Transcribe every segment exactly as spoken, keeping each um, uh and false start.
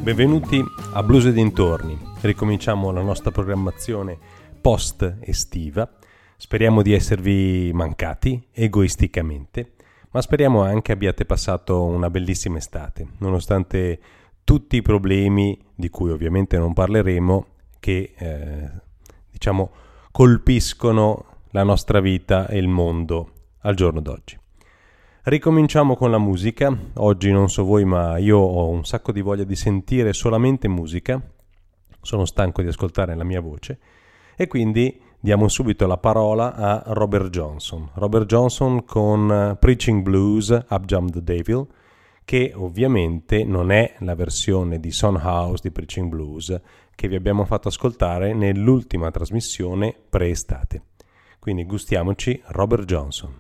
Benvenuti a Blues e dintorni. Ricominciamo la nostra programmazione post estiva. Speriamo di esservi mancati egoisticamente, ma speriamo anche abbiate passato una bellissima estate, nonostante tutti i problemi di cui ovviamente non parleremo, che eh, diciamo colpiscono la nostra vita e il mondo al giorno d'oggi. Ricominciamo con la musica. Oggi non so voi, ma io ho un sacco di voglia di sentire solamente musica. Sono stanco di ascoltare la mia voce e quindi diamo subito la parola a Robert Johnson. Robert Johnson con Preaching Blues, Up Jump the Devil, che ovviamente non è la versione di Son House di Preaching Blues che vi abbiamo fatto ascoltare nell'ultima trasmissione pre-estate. Quindi gustiamoci Robert Johnson.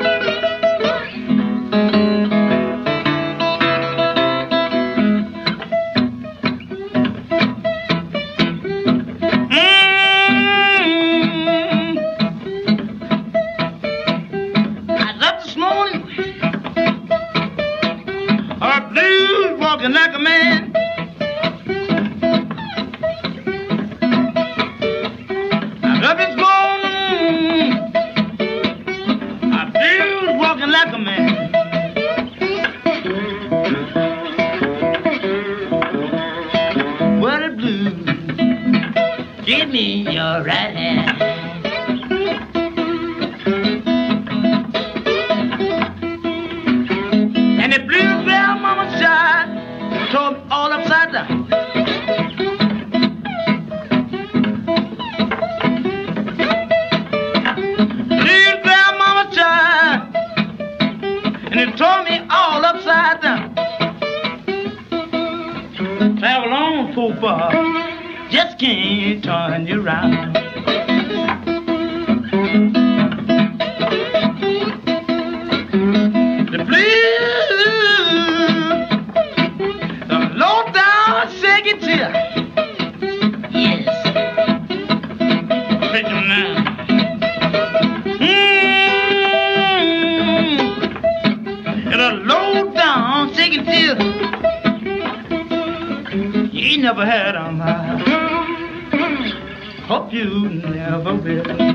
Like a man, I love his morning. I feel walking like a man. What a blues, give me your right hand. And the blues bell mama shot told me all upside down. Little brown mama child, and it told me all upside down. Travel on so far, just can't turn you around. The blues, shake it till, yes, take them now. Mmm, and a low down, shake it till, you ain't never had them. I hope you never will.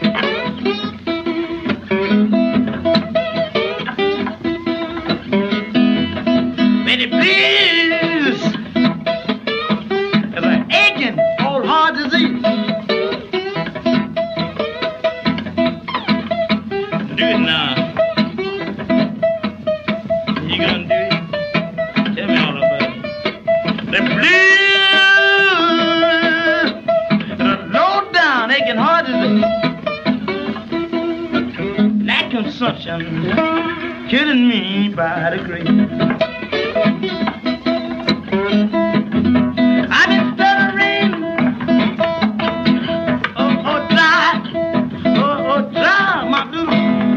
Betty, please. Killing me by the grave. I've been stuttering, oh, oh, dry, oh, oh, dry, my blues.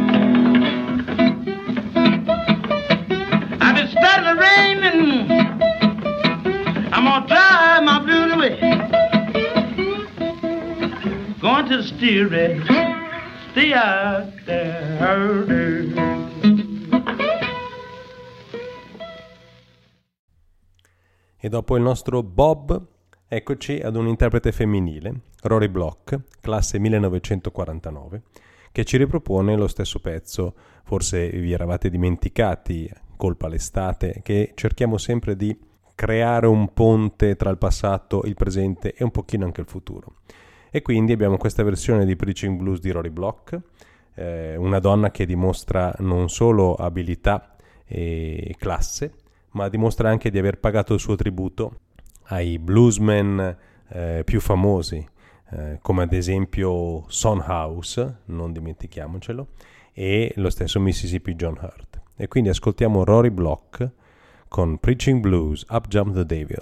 I've been stuttering, and I'm gonna dry my blues away. Going to the steerage, stay out there. E dopo il nostro Bob, eccoci ad un interprete femminile, Rory Block, classe millenovecentoquarantanove, che ci ripropone lo stesso pezzo. Forse vi eravate dimenticati, colpa l'estate, che cerchiamo sempre di creare un ponte tra il passato, il presente e un pochino anche il futuro. E quindi abbiamo questa versione di Preaching Blues di Rory Block, eh, una donna che dimostra non solo abilità e classe, ma dimostra anche di aver pagato il suo tributo ai bluesmen eh, più famosi, eh, come ad esempio Son House, non dimentichiamocelo, e lo stesso Mississippi John Hurt. E quindi ascoltiamo Rory Block con Preaching Blues, Up Jump the Devil.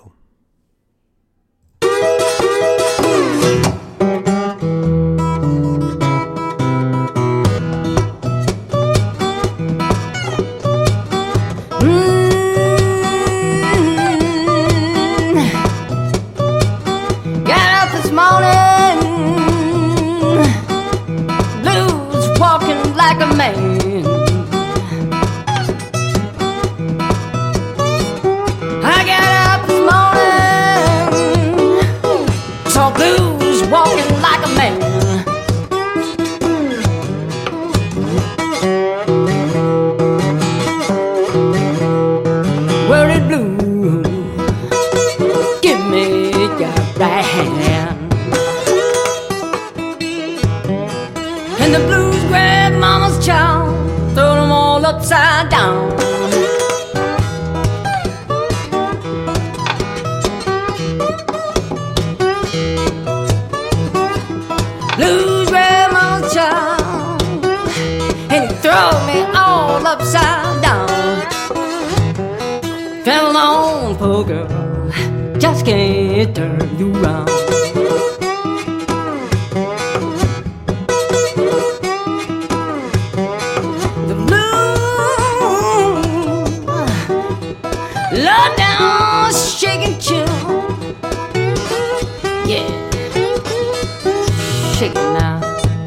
Like a man, I got up this morning. hand. And the blues grab mama's child, throw them all upside down. Blues grab mama's child, and he throw me all upside down. Fell on, poor girl, just can't turn you round. The blues, low down, shaking chill. Yeah, shake it now.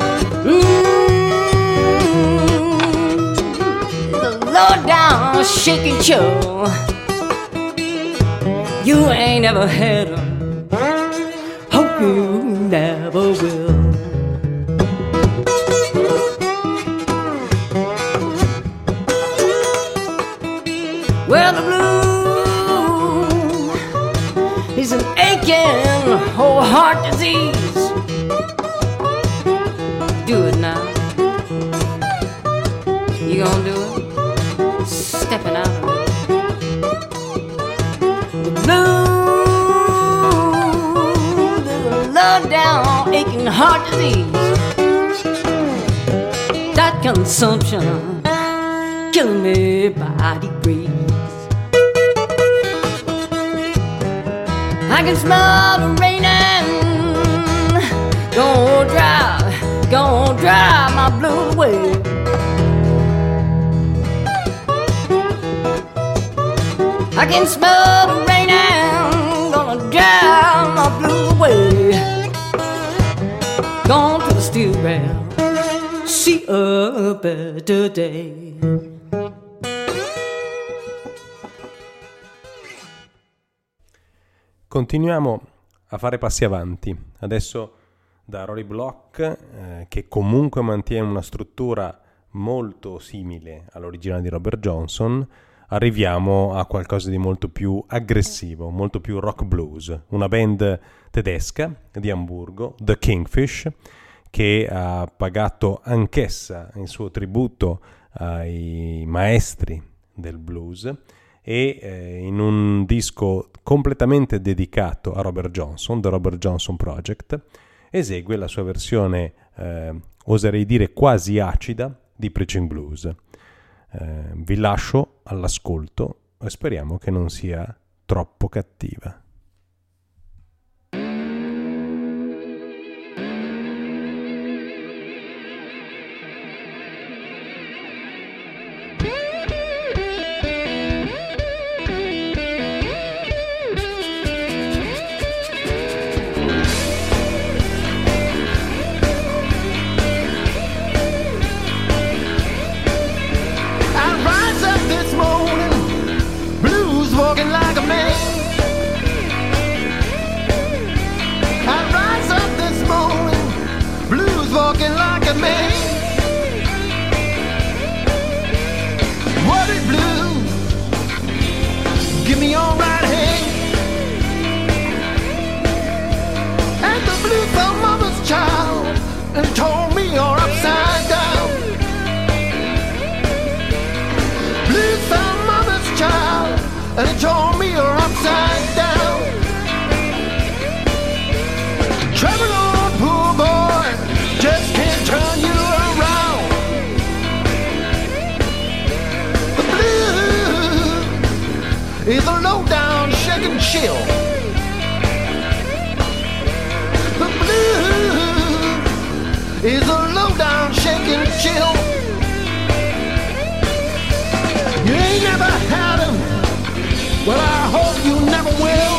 Mm, the low down, shaking chill. You ain't ever had 'em, hope you never will. Well, the blues is an aching whole heart disease. Do it now. You gonna do it? Stepping out of it. Blues, there's a low down aching heart disease. That consumption killing me by degrees. I can smell the raining, gonna drive, gonna drive my blues away. I can smell the raining, gonna drive my blues away. Gone to the steel rail, see a better day. Continuiamo a fare passi avanti. Adesso da Rory Block, eh, che comunque mantiene una struttura molto simile all'originale di Robert Johnson, arriviamo a qualcosa di molto più aggressivo, molto più rock blues. Una band tedesca di Amburgo, The Kingfish, che ha pagato anch'essa il suo tributo ai maestri del blues e eh, in un disco completamente dedicato a Robert Johnson, The Robert Johnson Project, esegue la sua versione, eh, oserei dire quasi acida, di Preaching Blues. Eh, vi lascio all'ascolto e speriamo che non sia troppo cattiva. Walking like a man, I rise up this morning, blues walking like a man. What is blue? Give me your right hand. And the blue from mama's child and told me you're upside down. Blue from mama's child and it told me you're upside down. Travel on, poor boy, just can't turn you around. The blues is a low-down shaking chill. The blues is a low-down shaking chill. You ain't never had him. Well, I hope you never will.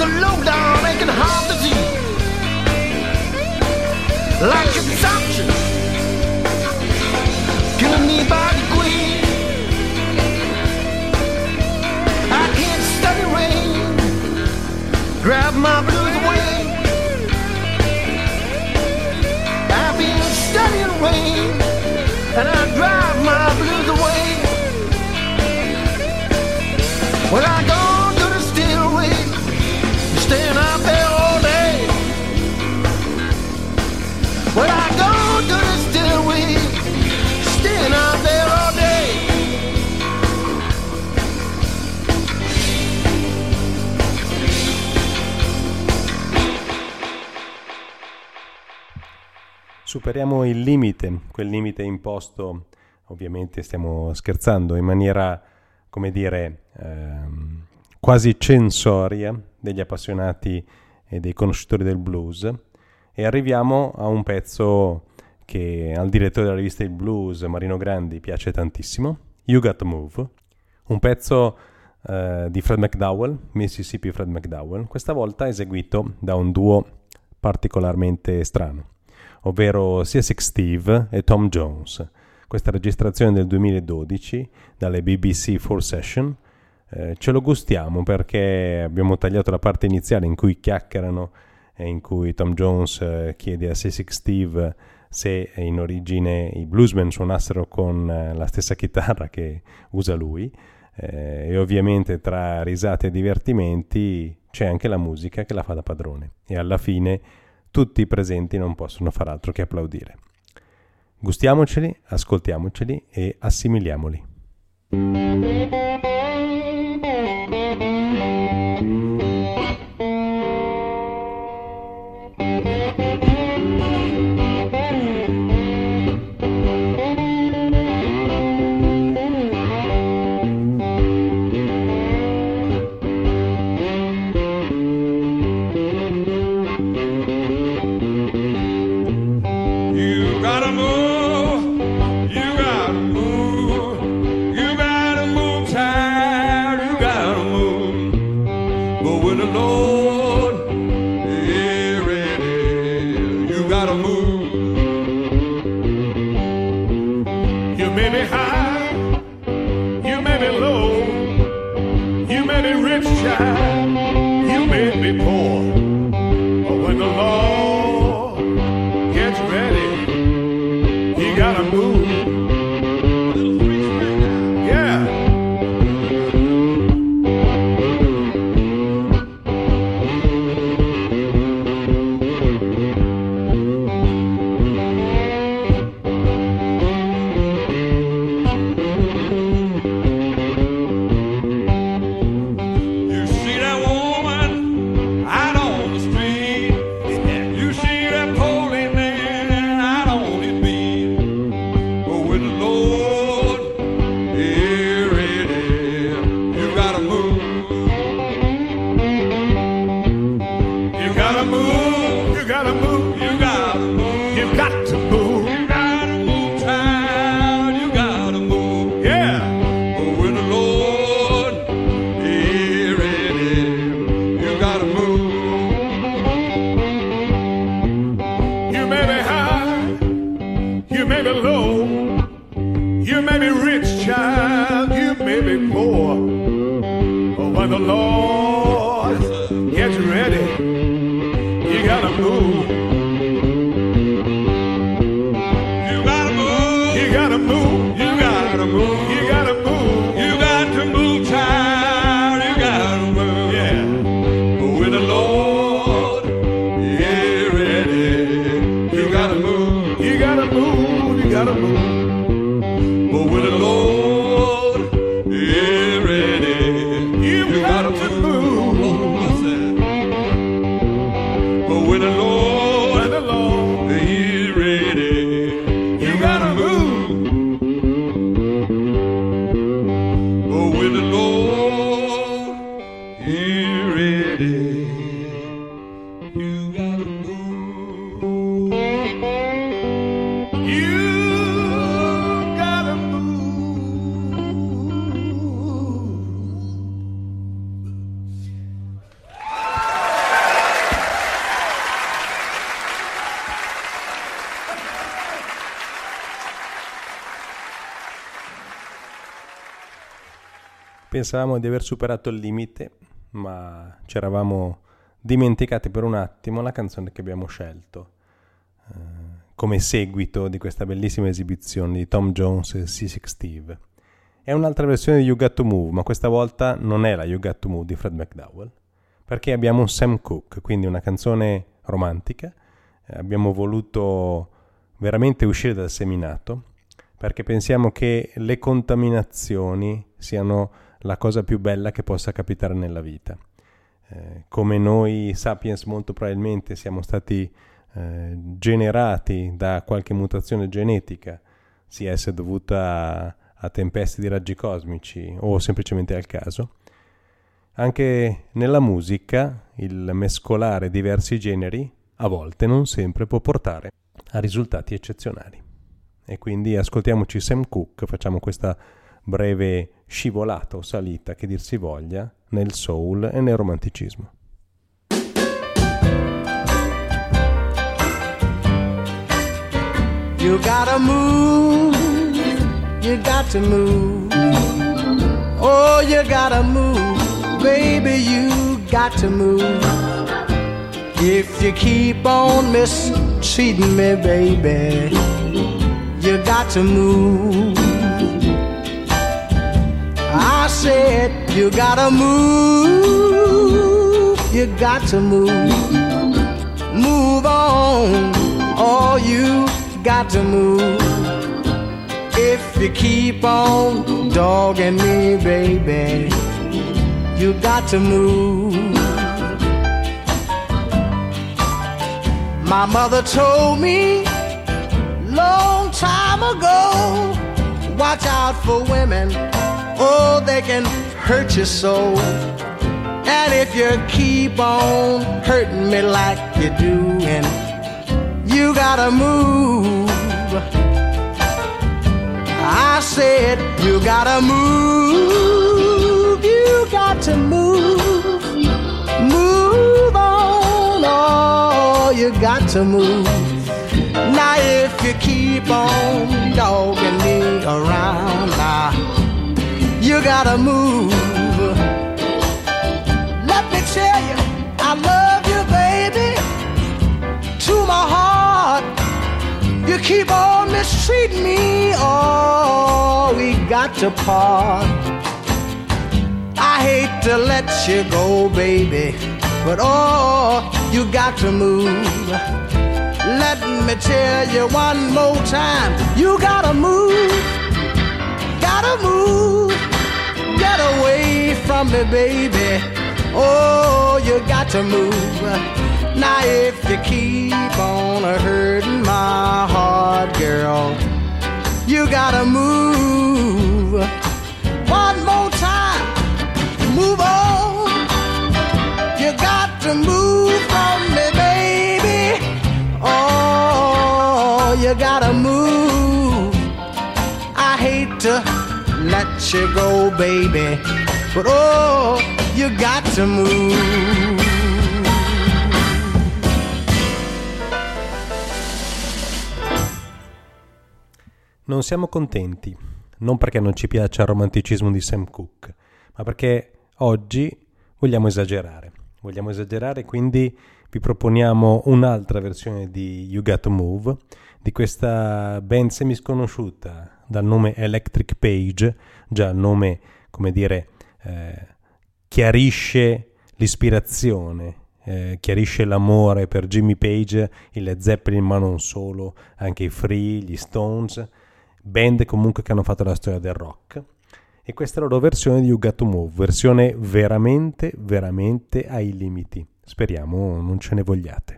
a low-down aching heart disease, like consumption, killing me by degrees. I can't study rain, grab my blues away. I've been studying rain, and I drive my blues away. When I go to the stillway, staying out there all day. When I go to the stillway, staying out there all day. Superiamo il limite, quel limite imposto, ovviamente stiamo scherzando, in maniera, come dire, ehm, quasi censoria degli appassionati e dei conoscitori del blues, e arriviamo a un pezzo che al direttore della rivista Il Blues, Marino Grandi, piace tantissimo, You Got to Move, un pezzo eh, di Fred McDowell, Mississippi Fred McDowell, questa volta eseguito da un duo particolarmente strano, ovvero Seasick Steve e Tom Jones. Questa registrazione del duemiladodici dalle B B C Four Session, eh, ce lo gustiamo perché abbiamo tagliato la parte iniziale in cui chiacchierano e in cui Tom Jones eh, chiede a Seasick Steve se in origine i bluesmen suonassero con eh, la stessa chitarra che usa lui, eh, e ovviamente tra risate e divertimenti c'è anche la musica che la fa da padrone, e alla fine tutti i presenti non possono far altro che applaudire. Gustiamoceli, ascoltiamoceli e assimiliamoli. But when the Lord is ready, you got to move. Pensavamo di aver superato il limite, ma ci eravamo dimenticati per un attimo la canzone che abbiamo scelto eh, come seguito di questa bellissima esibizione di Tom Jones e Seasick Steve. È un'altra versione di You Got to Move, ma questa volta non è la You Got to Move di Fred McDowell, perché abbiamo un Sam Cooke, quindi una canzone romantica. Eh, abbiamo voluto veramente uscire dal seminato, perché pensiamo che le contaminazioni siano la cosa più bella che possa capitare nella vita. Eh, come noi sapiens molto probabilmente siamo stati eh, generati da qualche mutazione genetica, sia essa dovuta a, a tempeste di raggi cosmici o semplicemente al caso, anche nella musica il mescolare diversi generi a volte, non sempre, può portare a risultati eccezionali. E quindi ascoltiamoci Sam Cooke, facciamo questa breve scivolata o salita, che dir si voglia, nel soul e nel romanticismo. You gotta move, you got to move. Oh, you gotta move, baby, you got to move. If you keep on mistreating me, baby, you got to move. I said you gotta move, you got to move. Move on, oh, you got to move. If you keep on dogging me, baby, you got to move. My mother told me long time ago, watch out for women, oh, they can hurt you so. And if you keep on hurting me like you're doing, you gotta move. I said you gotta move, you got to move. Move on, oh, you got to move. Now if you keep on dogging me around, now you gotta move. Let me tell you, I love you, baby, to my heart. You keep on mistreating me, oh, we got to part. I hate to let you go, baby, but oh, you got to move. Let me tell you one more time, you gotta move, gotta move. Get away from me, baby, oh, you got to move. Now if you keep on hurting my heart, girl, you gotta move. One more time, move on. You got to move from me, baby, oh, you gotta move. I hate to let you go, baby, but oh, you got to move. Non siamo contenti, non perché non ci piaccia il romanticismo di Sam Cooke, ma perché oggi vogliamo esagerare. Vogliamo esagerare, quindi vi proponiamo un'altra versione di You Got to Move, di questa band semisconosciuta dal nome Electric Page. Già il nome, come dire, eh, chiarisce l'ispirazione, eh, chiarisce l'amore per Jimmy Page, il Led Zeppelin, ma non solo, anche i Free, gli Stones, band comunque che hanno fatto la storia del rock. E questa è la loro versione di You Got to Move, versione veramente, veramente ai limiti. Speriamo non ce ne vogliate.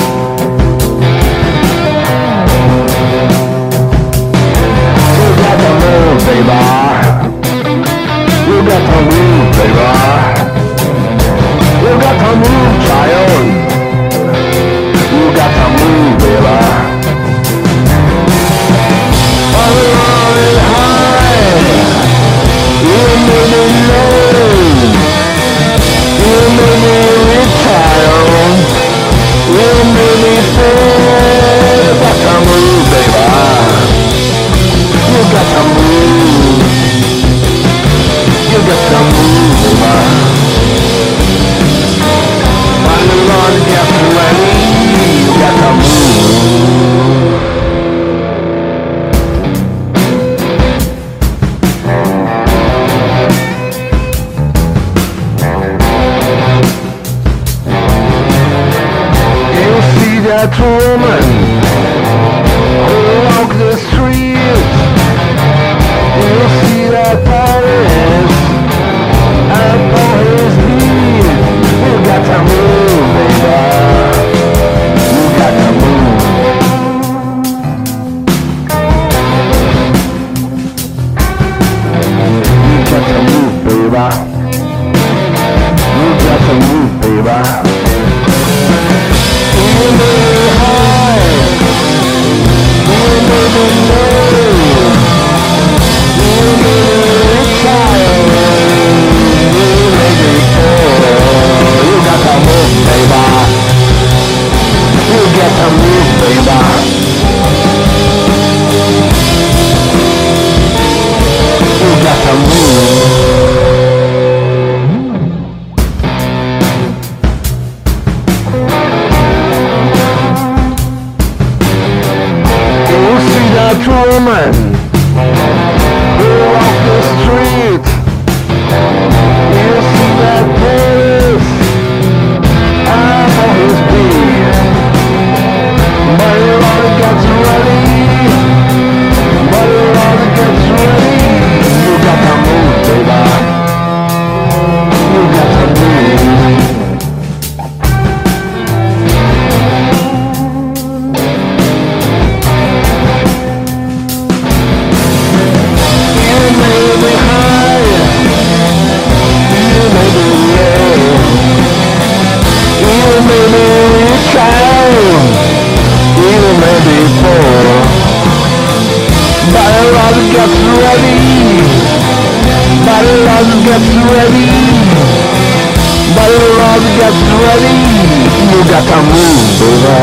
Together You got to move, baby. You may be high, you may be low, you may be child, you may be poor. You got to move, baby. You got to move, baby. You got to move. Woman who walk the street, you see that police out on his beat, but he always gets ready, but he always gets ready. You got to move, baby. You got to move. Gets ready, but love gets ready, but love gets ready. You got to move, baby.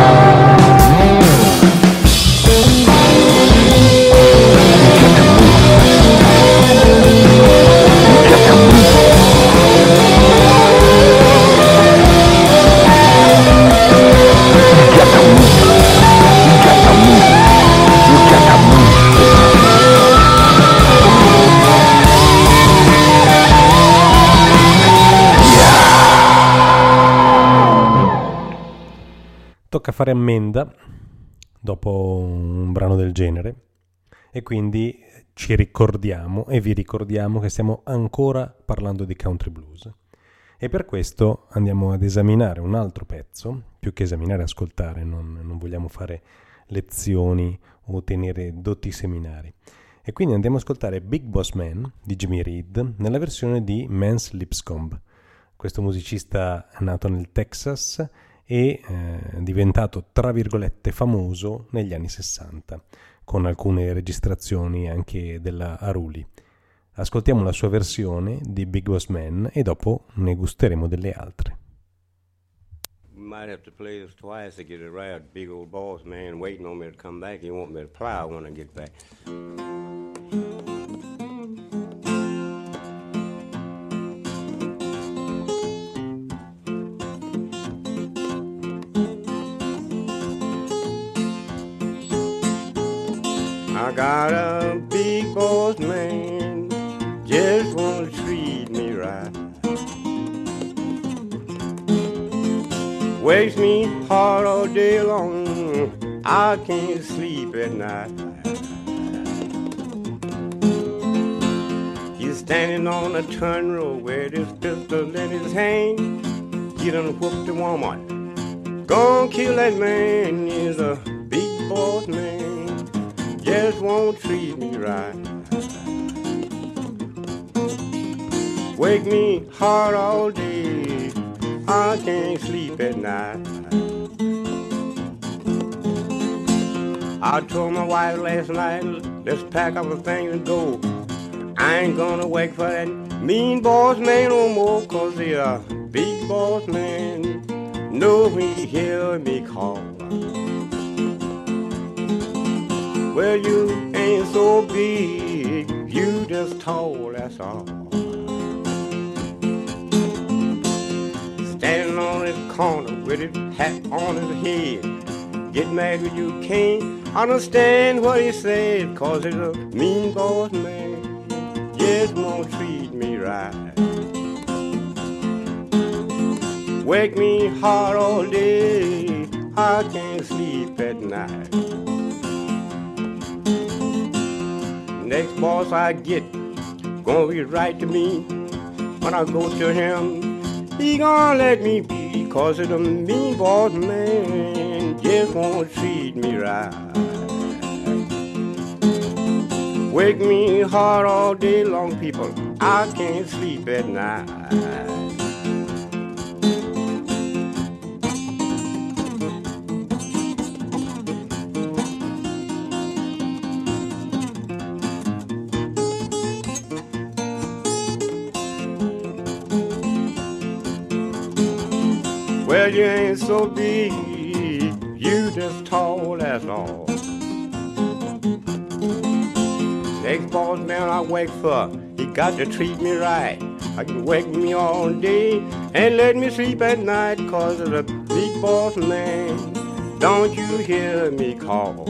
Tocca fare ammenda dopo un brano del genere e quindi ci ricordiamo e vi ricordiamo che stiamo ancora parlando di country blues e per questo andiamo ad esaminare un altro pezzo, più che esaminare, ascoltare, non, non vogliamo fare lezioni o tenere dotti seminari, e quindi andiamo ad ascoltare Big Boss Man di Jimmy Reed nella versione di Mance Lipscomb, questo musicista nato nel Texas e eh, diventato tra virgolette famoso negli anni sessanta con alcune registrazioni anche della Aruli. Ascoltiamo la sua versione di Big Boss Man e dopo ne gusteremo delle altre. We might have to play this twice to get it right. Big old boss man waiting on me to come back. He want me to plow when I get back. I got a big boss man, just wanna treat me right. Wakes me hard all day long, I can't sleep at night. He's standing on a turn road with his pistol in his hand. He done whooped the woman, gonna kill that man. He's a big boss man, just won't treat me right. Wake me hard all day, I can't sleep at night. I told my wife last night, let's pack up our things and go. I ain't gonna wait for that mean boss man no more, 'cause he a big boss man, know he hear me call. Well, you ain't so big, you just tall, that's all. Standing on his corner with his hat on his head, get mad when you can't understand what he said, 'cause he's a mean boss man, just won't treat me right. Wake me hard all day, I can't sleep at night. Next boss I get, gonna be right to me. When I go to him, he gonna let me be, 'cause it's a mean boss man, just won't treat me right. wake me hard all day long, people. I can't sleep at night. Well, you ain't so big, you just tall, that's all. Next boss man I work for, he got to treat me right. I can wake me all day and let me sleep at night, cause of the big boss man. Don't you hear me call?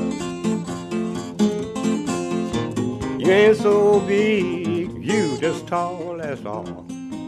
You ain't so big, you just tall, that's all.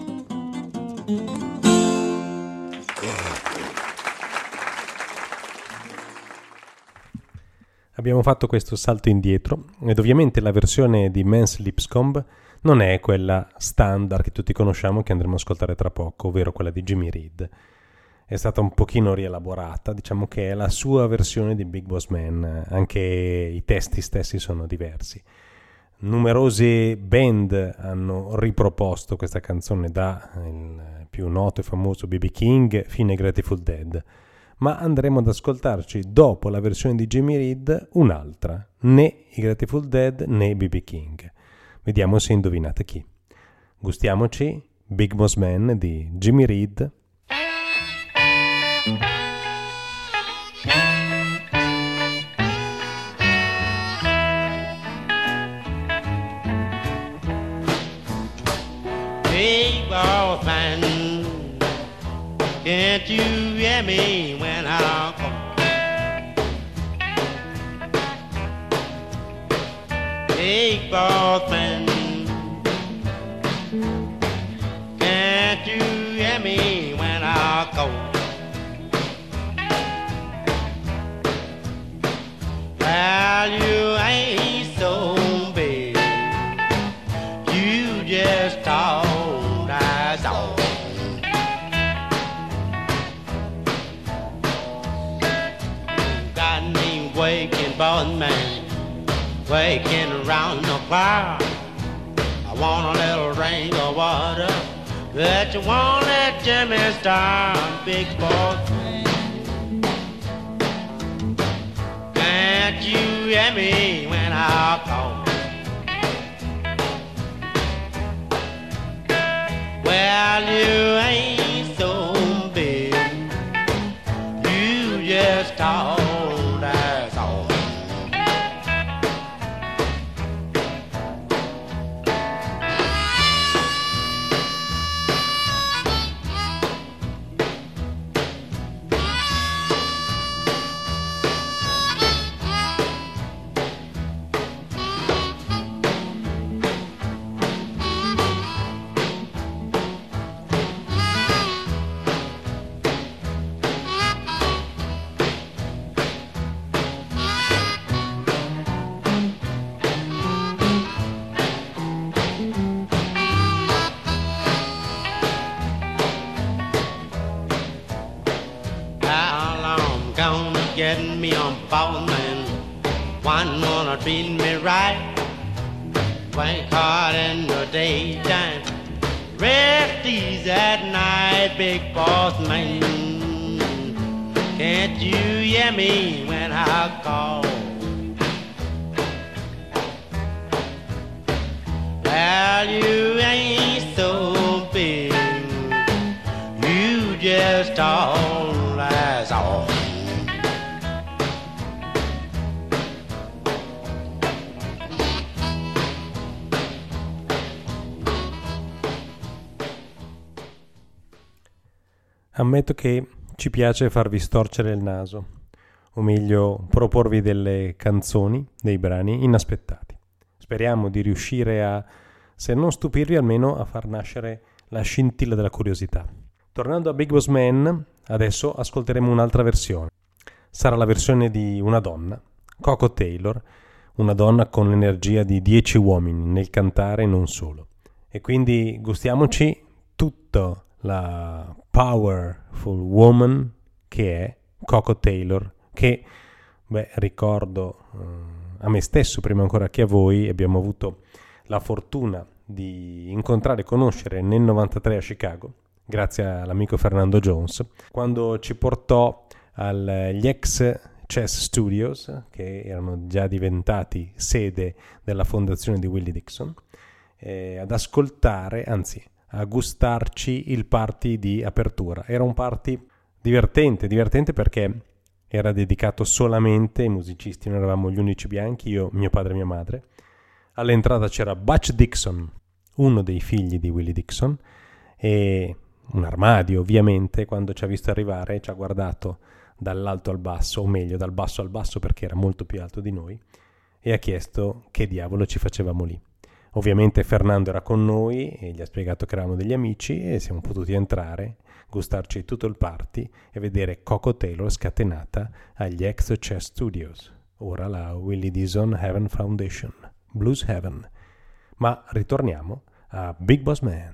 Abbiamo fatto questo salto indietro ed ovviamente la versione di Mans Lipscomb non è quella standard che tutti conosciamo, che andremo a ascoltare tra poco, ovvero quella di Jimmy Reed. È stata un pochino rielaborata, diciamo che è la sua versione di Big Boss Man, anche i testi stessi sono diversi. Numerose band hanno riproposto questa canzone, da il più noto e famoso B B King fino ai Grateful Dead, ma andremo ad ascoltarci dopo la versione di Jimmy Reed un'altra, né i Grateful Dead né B B King. Vediamo se indovinate chi. Gustiamoci Big Boss Man di Jimmy Reed. Big boss man, can't you hear me when I call? Big boss man, can't you hear me when I call? Well, you ain't so big, you just talk. Waking boss man, waking around the clock. I want a little drink of water, but you won't let Jimmy start. Big boss man, can't you hear me when I call? Well, you ain't so big, you just talk. Getting me on boss man, one wanna treat me right, work hard in the daytime, rest easy at night. Big boss man, can't you hear me when I call? Well, you ain't so big, you just all that's all. Ammetto che ci piace farvi storcere il naso, o meglio proporvi delle canzoni, dei brani inaspettati. Speriamo di riuscire a, se non stupirvi, almeno a far nascere la scintilla della curiosità. Tornando a Big Boss Man, adesso ascolteremo un'altra versione. Sarà la versione di una donna, Coco Taylor, una donna con l'energia di dieci uomini nel cantare e non solo. E quindi gustiamoci tutta la powerful woman che è Coco Taylor, che, beh, ricordo, eh, a me stesso prima ancora che a voi. Abbiamo avuto la fortuna di incontrare e conoscere nel novantatré a Chicago, grazie all'amico Fernando Jones, quando ci portò agli ex Chess Studios, che erano già diventati sede della fondazione di Willie Dixon, eh, ad ascoltare, anzi a gustarci il party di apertura. Era un party divertente, divertente perché era dedicato solamente ai musicisti, noi eravamo gli unici bianchi, io, mio padre e mia madre. All'entrata c'era Butch Dixon, uno dei figli di Willie Dixon, e un armadio ovviamente. Quando ci ha visto arrivare ci ha guardato dall'alto al basso, o meglio dal basso al basso perché era molto più alto di noi, e ha chiesto che diavolo ci facevamo lì. Ovviamente Fernando era con noi e gli ha spiegato che eravamo degli amici e siamo potuti entrare, gustarci tutto il party e vedere Coco Taylor scatenata agli ex Chess Studios, ora la Willie Dixon Heaven Foundation, Blues Heaven. Ma ritorniamo a Big Boss Man.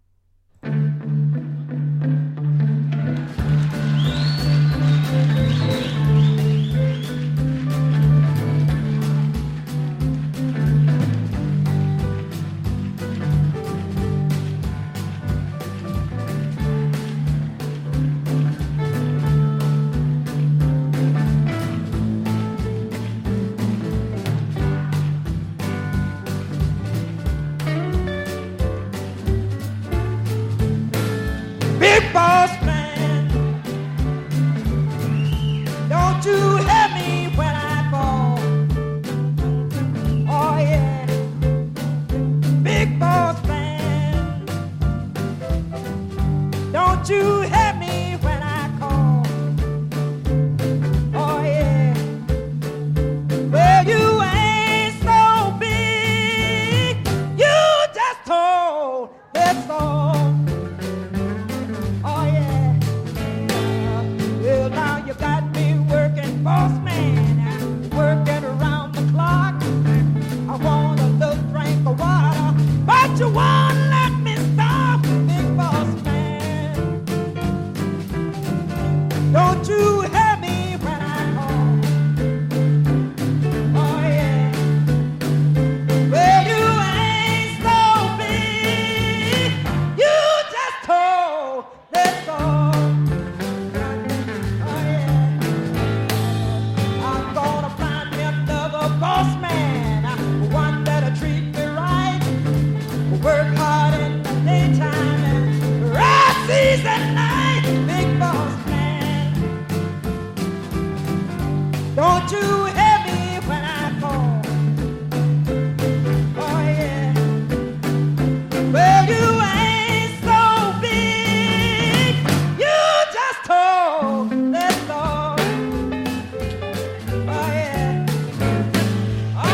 Big boss man, don't you help me when I fall. Oh yeah, big boss man, don't you help me when I call. Oh yeah, well you ain't so big, you just told that's all. Boss man, working around the clock. I want a little drink of water, but you won't let me stop. Big boss man, don't you help me when I call. Oh yeah, well you ain't so big, you just told that's all. Boss man, one that'll treat me right, work hard in the daytime and rest seas at night. Big boss man, don't you help me when I call. Oh yeah, well you ain't so big, you just told that's all. Oh yeah.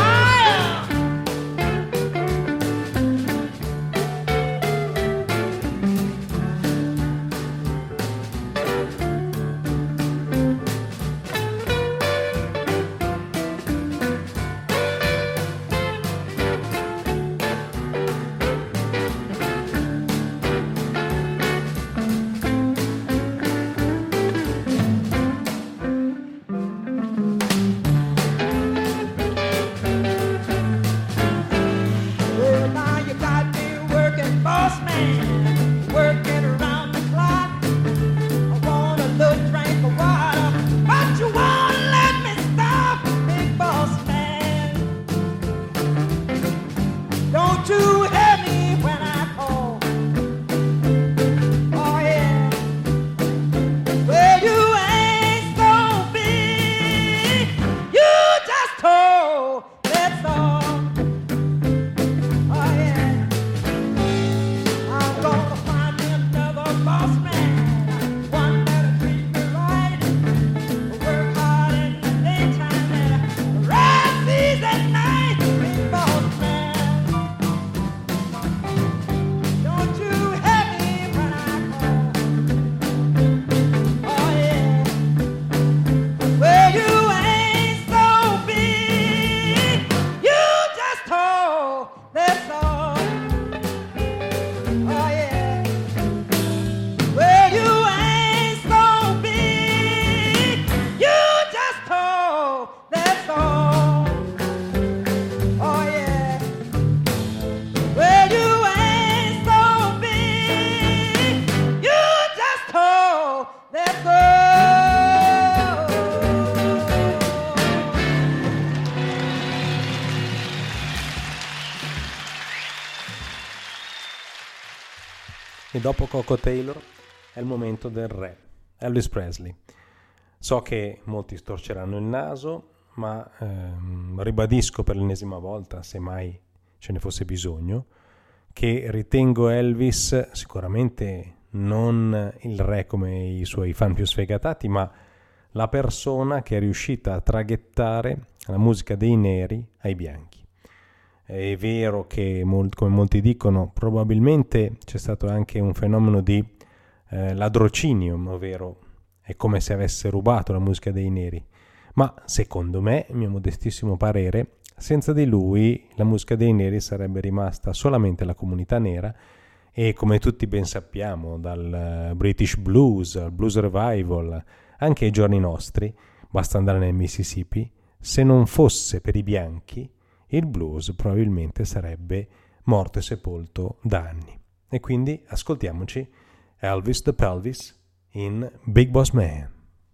e dopo Coco Taylor è il momento del re, Elvis Presley. So che molti storceranno il naso, ma ehm, ribadisco per l'ennesima volta, se mai ce ne fosse bisogno, che ritengo Elvis sicuramente non il re come i suoi fan più sfegatati, ma la persona che è riuscita a traghettare la musica dei neri ai bianchi. È vero che, come molti dicono, probabilmente c'è stato anche un fenomeno di eh, ladrocinio, ovvero è come se avesse rubato la musica dei neri, ma secondo me, mio modestissimo parere, senza di lui la musica dei neri sarebbe rimasta solamente la comunità nera e, come tutti ben sappiamo, dal British Blues al Blues Revival anche ai giorni nostri, basta andare nel Mississippi, se non fosse per i bianchi il blues probabilmente sarebbe morto e sepolto da anni. E quindi ascoltiamoci Elvis the Pelvis in Big Boss Man.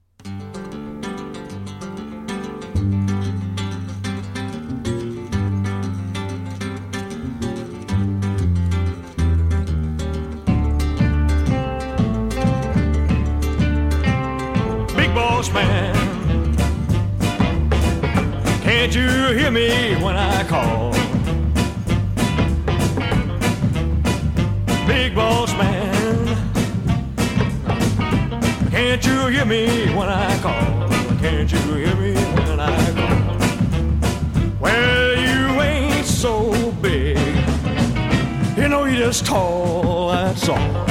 Man, can't you hear me when I call? Big boss man, can't you hear me when I call? Can't you hear me when I call? Well, you ain't so big, you know you're just tall, that's all.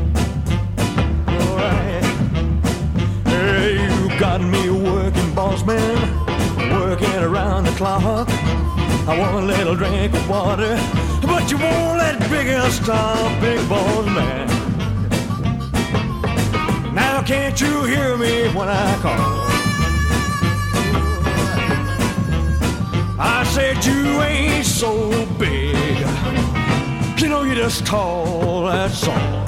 Got me working, boss man, working around the clock. I want a little drink of water, but you won't let big girl stop, big boss man. Now can't you hear me when I call? I said you ain't so big, you know you're just tall, that's all.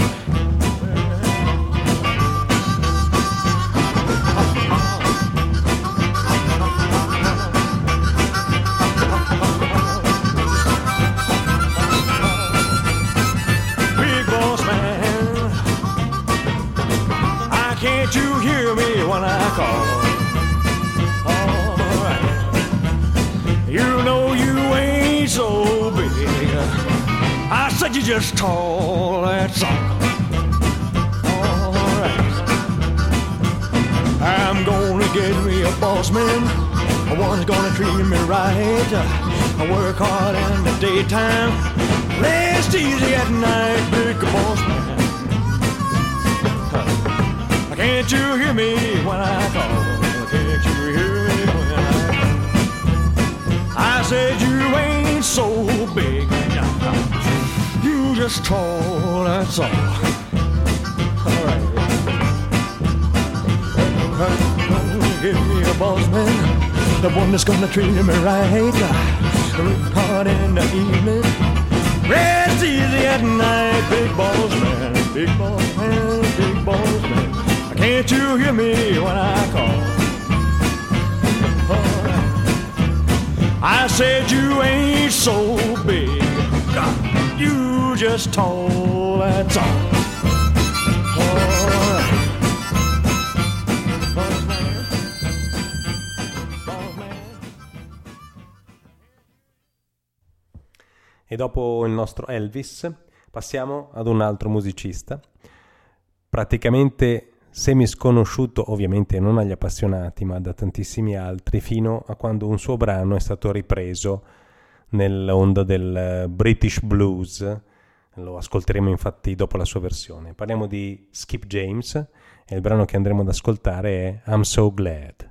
Can't you hear me when I call? All right. You know you ain't so big, I said you're just tall, that's all. All right. I'm gonna get me a boss man, one's gonna treat me right. I work hard in the daytime, rest easy at night, big boss man. Can't you hear me when I call? Can't you hear me when I call? I said you ain't so big, you just tall, that's all. All right. Give me a boss man, the one that's gonna treat me right. Work hard in the evening, rest easy at night, big boss man, big boss man, big boss man. Can't you hear me when I call? Oh, I said you ain't so big, God, you just tall, that's all. Oh, boss man, boss man. E dopo il nostro Elvis passiamo ad un altro musicista, praticamente semi sconosciuto ovviamente non agli appassionati ma da tantissimi altri, fino a quando un suo brano è stato ripreso nell'onda del British Blues. Lo ascolteremo infatti dopo la sua versione. Parliamo di Skip James e il brano che andremo ad ascoltare è I'm So Glad.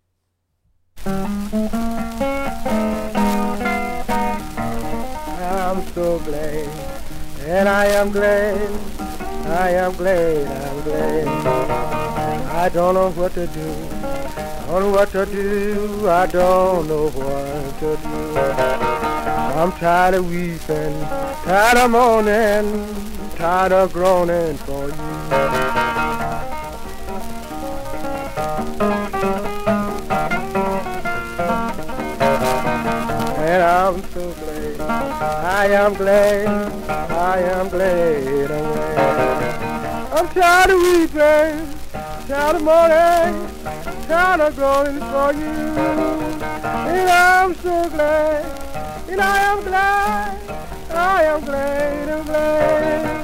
I'm so glad, and I am glad, I am glad, I'm glad. I don't know what to do, I don't know what to do, I don't know what to do. I'm tired of weeping, tired of mourning, tired of groaning for you. and I'm so glad. I am glad, I am glad, I'm glad. I'm tired of weeping, tired of mourning, tired of going for you. And I'm so glad, and I am glad, I am glad, I'm glad.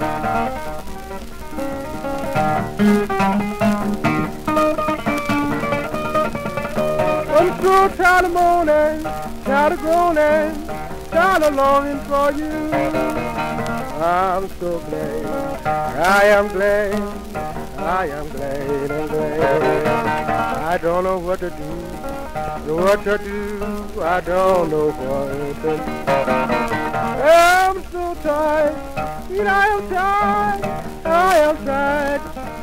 I'm so tired of mourning, tired of groaning, tired of longing for you. I'm so glad, I am glad, I am glad, I'm glad. I don't know what to do, what to do, I don't know what to do. I'm so tired, and I am tired, I am tired.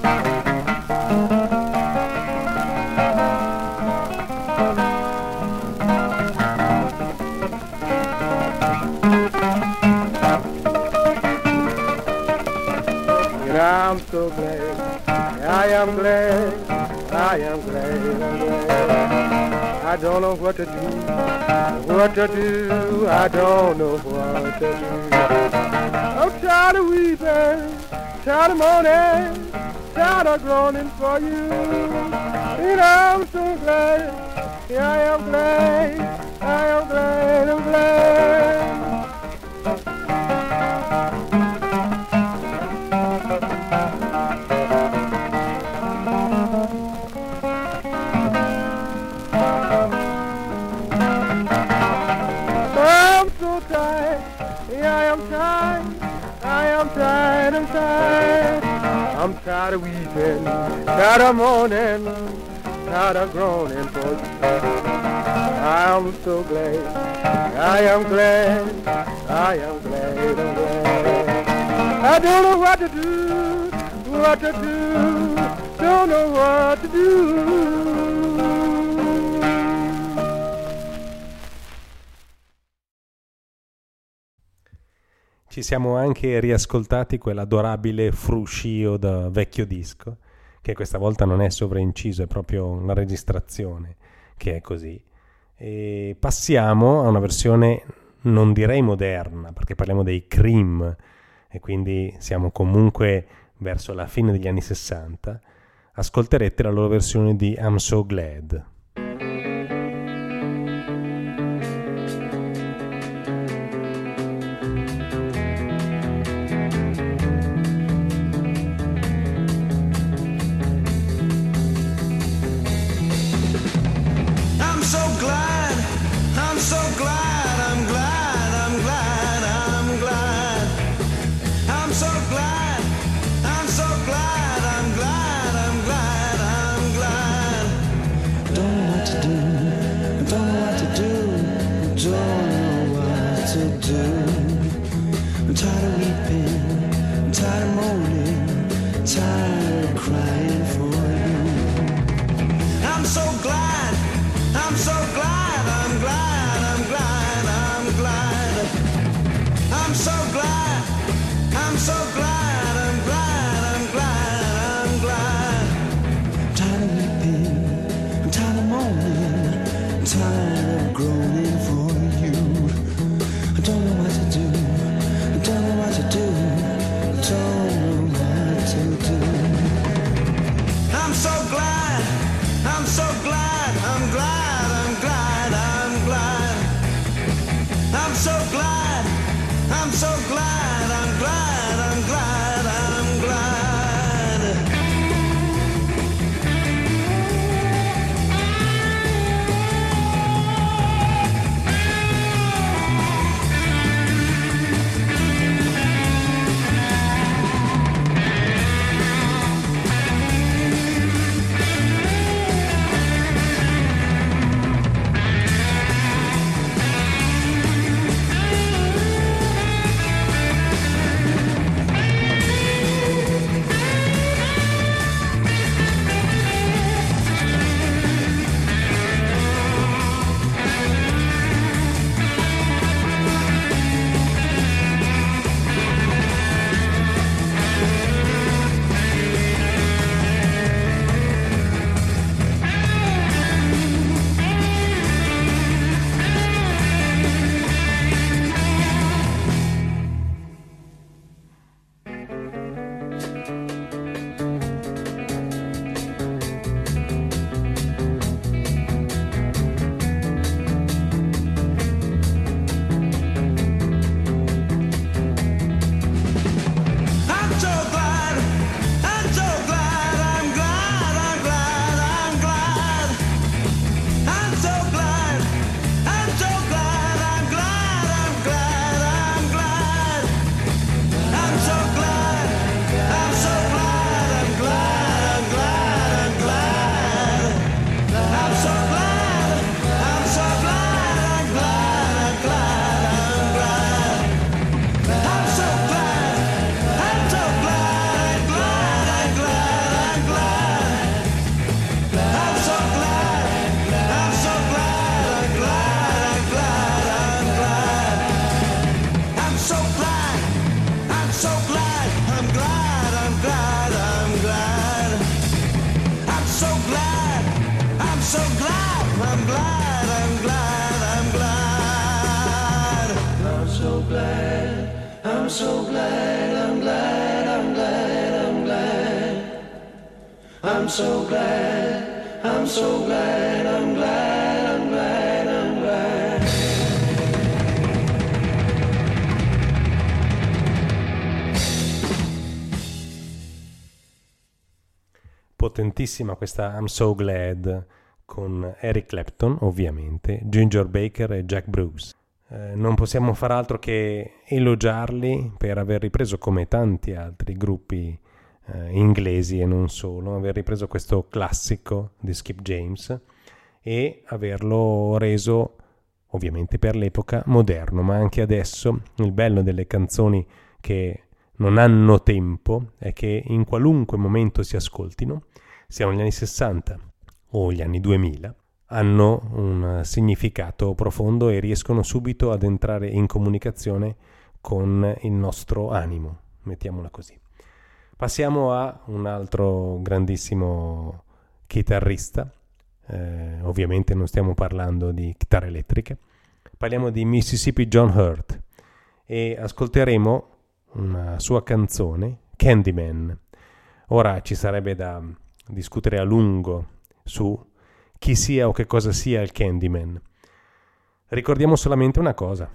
I'm so glad, I am glad, I am glad, I'm glad. I don't know what to do, what to do, I don't know what to do. I'm tired of weeping, tired of mourning, tired of groaning for you. And I'm so glad, yeah, I am glad, I am glad, I'm glad. Tired, I'm tired, I'm tired of weeping, tired of mourning, tired of groaning for you. I'm so glad, I am glad, I am glad, I'm glad. I don't know what to do, what to do, don't know what to do. Ci siamo anche riascoltati quell'adorabile fruscio da vecchio disco, che questa volta non è sovrainciso, è proprio una registrazione che è così. E passiamo a una versione, non direi moderna, perché parliamo dei Cream, e quindi siamo comunque verso la fine degli anni sessanta. Ascolterete la loro versione di I'm So Glad. I'm so glad, I'm glad, I'm glad, I'm glad. I'm so glad, I'm so glad, I'm glad, I'm glad, I'm glad. Potentissima questa I'm So Glad con Eric Clapton, ovviamente, Ginger Baker e Jack Bruce. Eh, non possiamo far altro che elogiarli per aver ripreso, come tanti altri gruppi eh, inglesi e non solo, aver ripreso questo classico di Skip James e averlo reso, ovviamente per l'epoca, moderno, ma anche adesso. Il bello delle canzoni che non hanno tempo è che in qualunque momento si ascoltino, siano gli anni sessanta o gli anni duemila, hanno un significato profondo e riescono subito ad entrare in comunicazione con il nostro animo, mettiamola così. Passiamo a un altro grandissimo chitarrista, eh, ovviamente non stiamo parlando di chitarre elettriche, parliamo di Mississippi John Hurt e ascolteremo una sua canzone, Candyman. Ora ci sarebbe da discutere a lungo su chi sia o che cosa sia il Candyman. Ricordiamo solamente una cosa: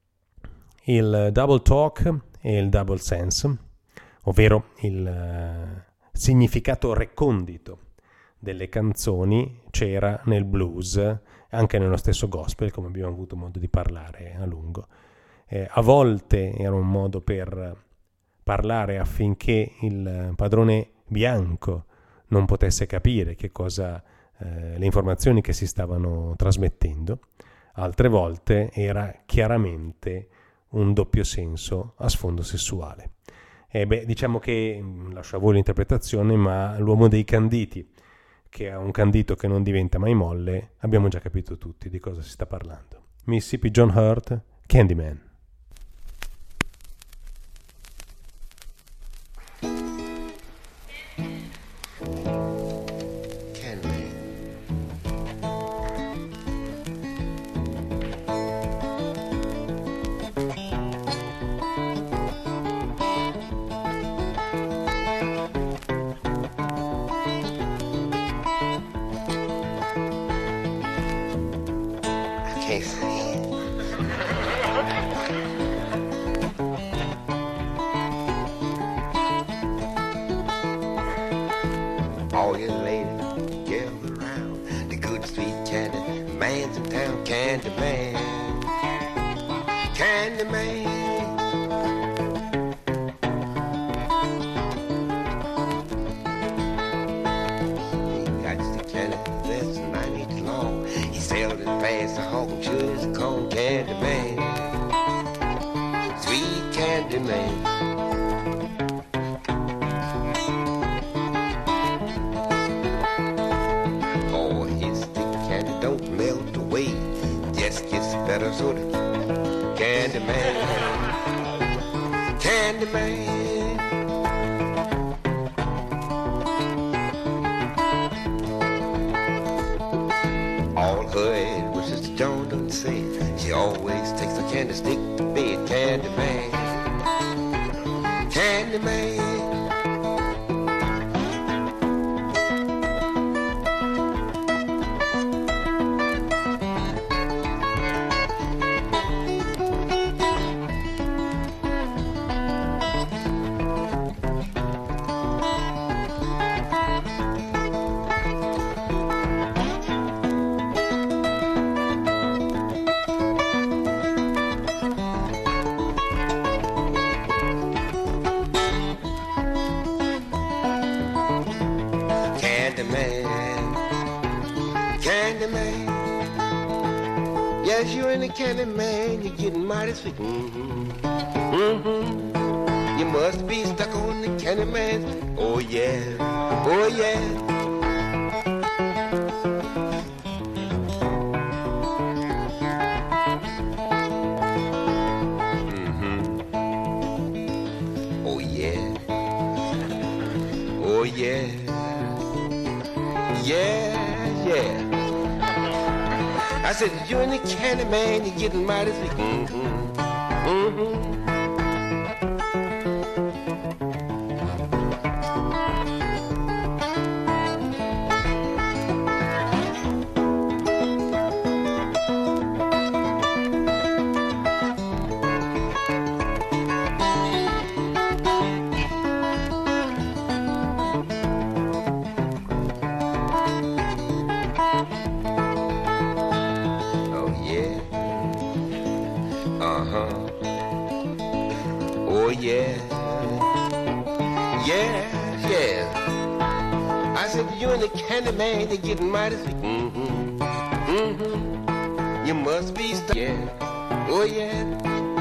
il double talk e il double sense, ovvero il uh, significato recondito delle canzoni, c'era nel blues, anche nello stesso gospel, come abbiamo avuto modo di parlare a lungo. Eh, a volte era un modo per parlare affinché il padrone bianco non potesse capire che cosa eh, le informazioni che si stavano trasmettendo, altre volte era chiaramente un doppio senso a sfondo sessuale. E beh, diciamo che, lascio a voi l'interpretazione, ma l'uomo dei canditi, che ha un candito che non diventa mai molle, abbiamo già capito tutti di cosa si sta parlando. Mississippi John Hurt, Candyman. All you ladies, gather around. The good sweet candy man's in town. Candy man, candy man. He got the candy that's nine inches long. He sailed it past the hog and sure is called Candy man, sweet candy man. Better sort of Candy man, Candy man. All her head was Sister Joan done said she always takes a candy stick to bed. Candy man, Candy man. Candy man, you're getting mighty sweet. Mm-hmm. Mm-hmm. You must be stuck on the candy man. Oh yeah, oh yeah. Mm-hmm. Oh yeah, oh yeah, yeah, yeah. I said, you're in the candy man, you're getting mighty sweet. Mm-hmm. Mm-hmm. Uh-huh. Oh, yeah. Yeah, yeah. I said, you and the candy man, you're getting mighty sweet. Mm-hmm. Mm-hmm. You must be stuck. Yeah. Oh, yeah.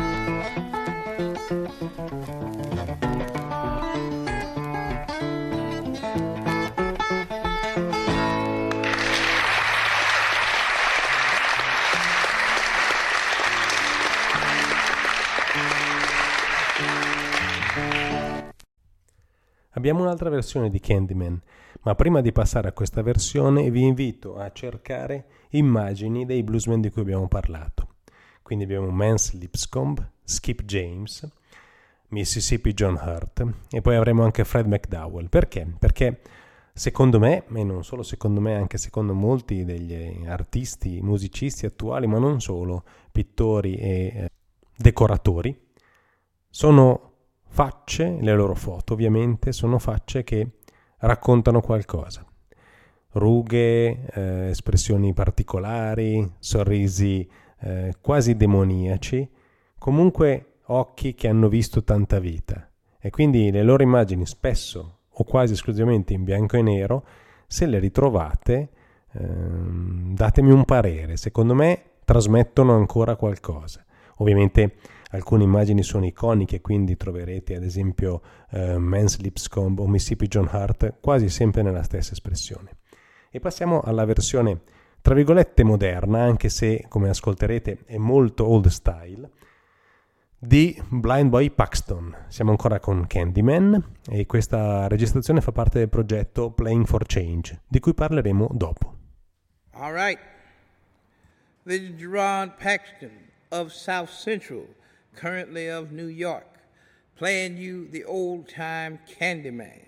Abbiamo un'altra versione di Candyman, ma prima di passare a questa versione vi invito a cercare immagini dei bluesmen di cui abbiamo parlato. Quindi abbiamo Mance Lipscomb, Skip James, Mississippi John Hurt e poi avremo anche Fred McDowell. Perché? Perché secondo me, e non solo secondo me, anche secondo molti degli artisti, musicisti attuali, ma non solo, pittori e eh, decoratori, sono facce, le loro foto ovviamente, sono facce che raccontano qualcosa. Rughe, eh, espressioni particolari, sorrisi eh, quasi demoniaci, comunque occhi che hanno visto tanta vita. E quindi le loro immagini spesso o quasi esclusivamente in bianco e nero, se le ritrovate, ehm, datemi un parere. Secondo me trasmettono ancora qualcosa. Ovviamente alcune immagini sono iconiche, quindi troverete ad esempio uh, Mance Lipscomb o Mississippi John Hurt quasi sempre nella stessa espressione. E passiamo alla versione tra virgolette moderna, anche se come ascolterete è molto old style, di Blind Boy Paxton. Siamo ancora con Candyman e questa registrazione fa parte del progetto Playing for Change, di cui parleremo dopo. All right. This is Gerard Paxton of South Central, currently of New York, playing you the old-time Candyman.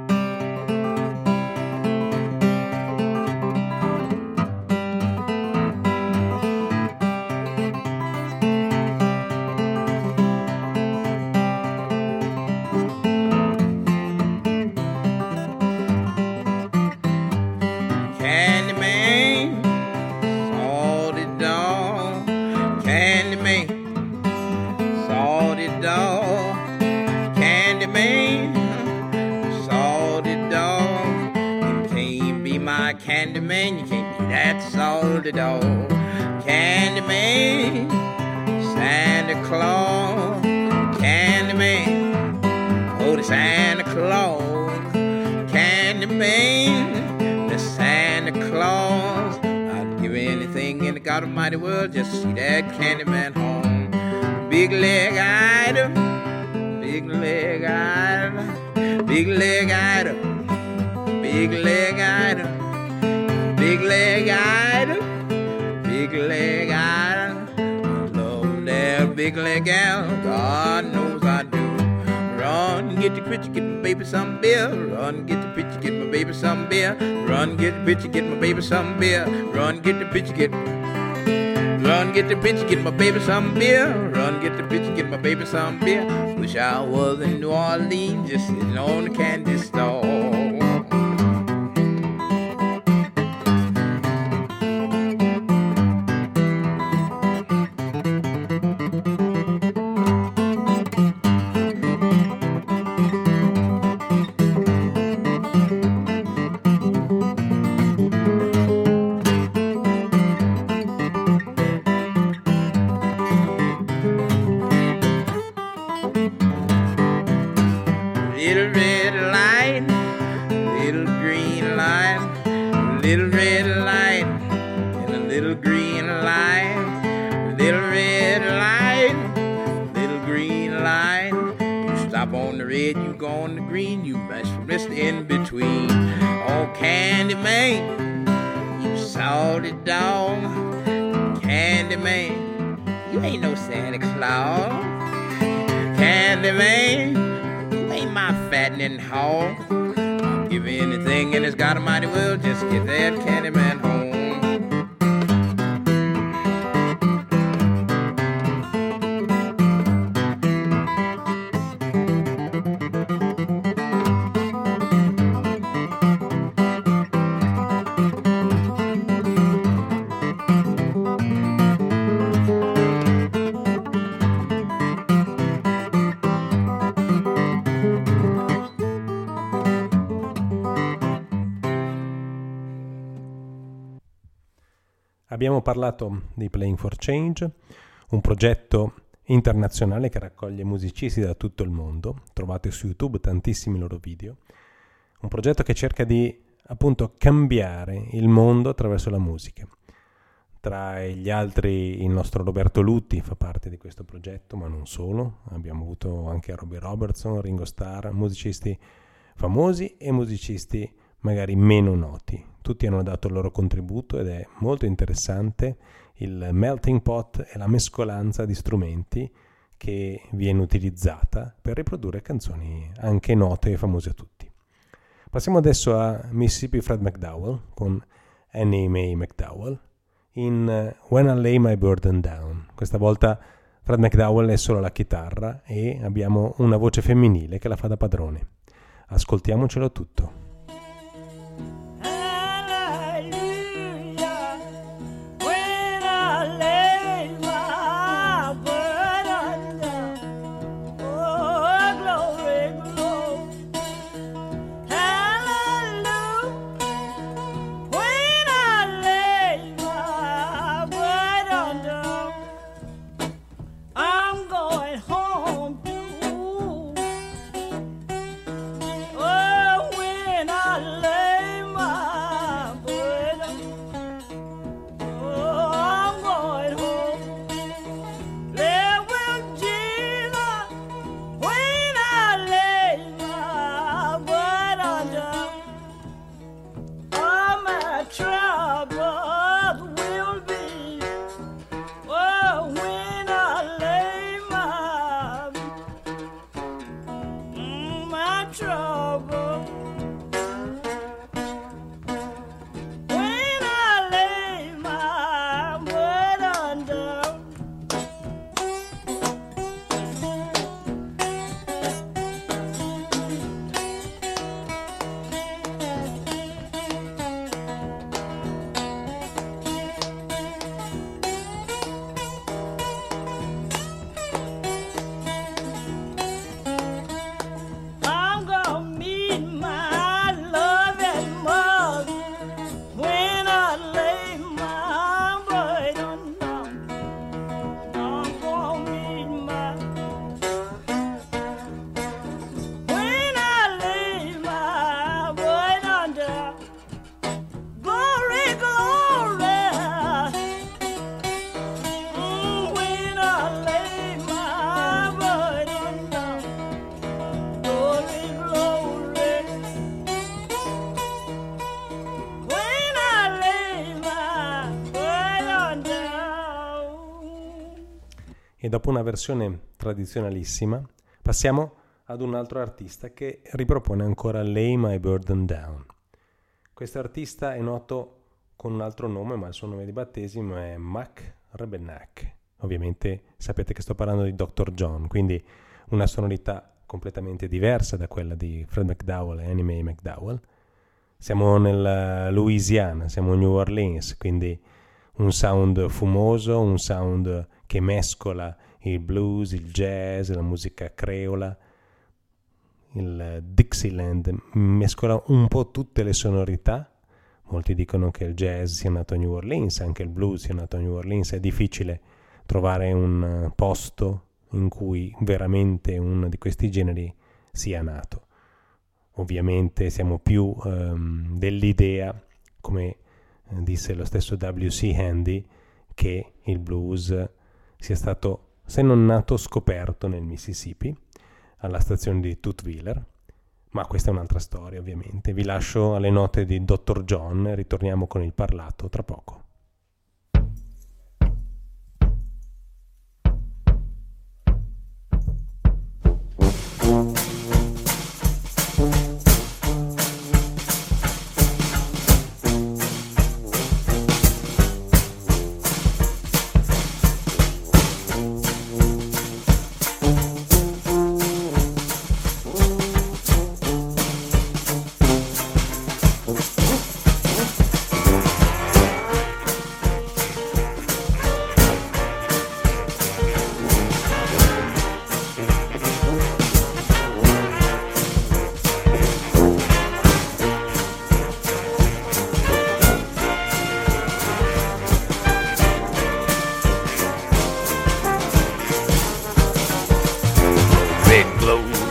Candyman, you can't be that salty dog. Candyman, Santa Claus. Candyman, oh the Santa Claus. Candyman, the Santa Claus. I'd give anything in the God Almighty world just to see that Candyman home. Big leg item, big leg item, big leg item, big leg item. Big leg item, big leg item. I love that big leg gal, God knows I do. Run, get the picture, get my baby some beer. Run, get the picture, get my baby some beer. Run, get the picture, get my baby some beer. Run, get the picture, get. Run, get the picture, get my baby some beer. Run, get the picture, get my baby some beer. Wish I was in New Orleans, just sitting on the candy store. Hall. I'll give anything in this God Almighty world just get that Candyman home. Abbiamo parlato di Playing for Change, un progetto internazionale che raccoglie musicisti da tutto il mondo. Trovate su YouTube tantissimi loro video. Un progetto che cerca di appunto cambiare il mondo attraverso la musica. Tra gli altri il nostro Roberto Lutti fa parte di questo progetto, ma non solo. Abbiamo avuto anche Robbie Robertson, Ringo Starr, musicisti famosi e musicisti magari meno noti. Tutti hanno dato il loro contributo ed è molto interessante il melting pot e la mescolanza di strumenti che viene utilizzata per riprodurre canzoni anche note e famose a tutti. Passiamo adesso a Mississippi Fred McDowell con Annie Mae McDowell in When I Lay My Burden Down. Questa volta Fred McDowell è solo alla chitarra e abbiamo una voce femminile che la fa da padrone. Ascoltiamocelo tutto. E dopo una versione tradizionalissima passiamo ad un altro artista che ripropone ancora Lay My Burden Down. Questo artista è noto con un altro nome, ma il suo nome di battesimo è Mac Rebennack. Ovviamente sapete che sto parlando di doctor John, quindi una sonorità completamente diversa da quella di Fred McDowell e Annie Mae McDowell. Siamo nella Louisiana, siamo a New Orleans, quindi un sound fumoso, un sound che mescola il blues, il jazz, la musica creola, il Dixieland, mescola un po' tutte le sonorità. Molti dicono che il jazz sia nato a New Orleans, anche il blues sia nato a New Orleans. È difficile trovare un posto in cui veramente uno di questi generi sia nato. Ovviamente siamo più um, dell'idea, come disse lo stesso W C Handy, che il blues sia stato, se non nato, scoperto nel Mississippi, alla stazione di Tuthwiller, ma questa è un'altra storia ovviamente. Vi lascio alle note di doctor John e ritorniamo con il parlato tra poco.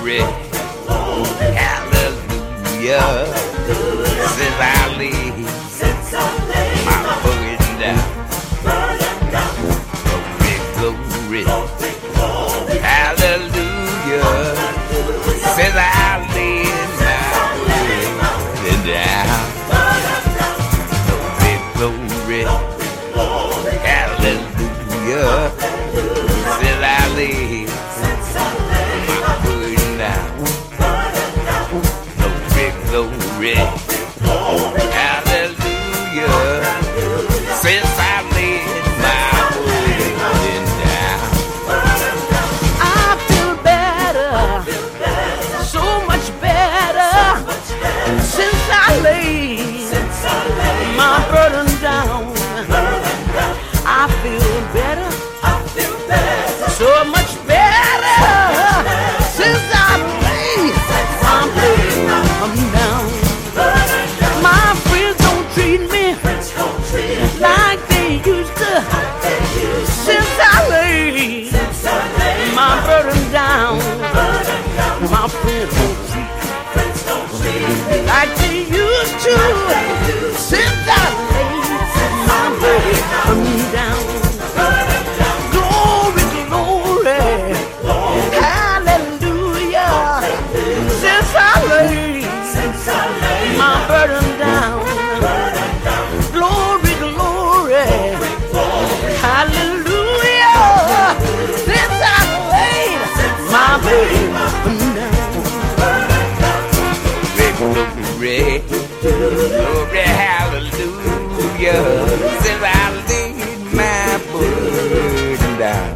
glory, hallelujah. Since I leave my burden down, glory, glory, hallelujah. Since I leave my burden down, glory, glory, hallelujah. Since I leave my burden down, glory, glory, hallelujah. Since I laid my burden down, I feel better, so much better, since I laid my burden down. I feel better, so much better, since I laid my burden down. My friends don't treat me like they used to, since I laid my burden down. My friends don't treat me like they used to, since I laid my burden down. Glory, glory, hallelujah, since I laid my burden down. Glory, glory, hallelujah, since I laid my burden down. glory, glory, hallelujah. Since I laid my burden down,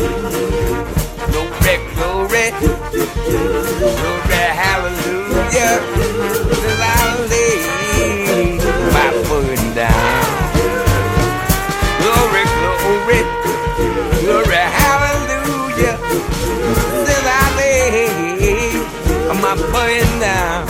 glory, glory, glory, hallelujah. Since I laid my burden down, glory, glory, glory, hallelujah. Since I laid my burden down,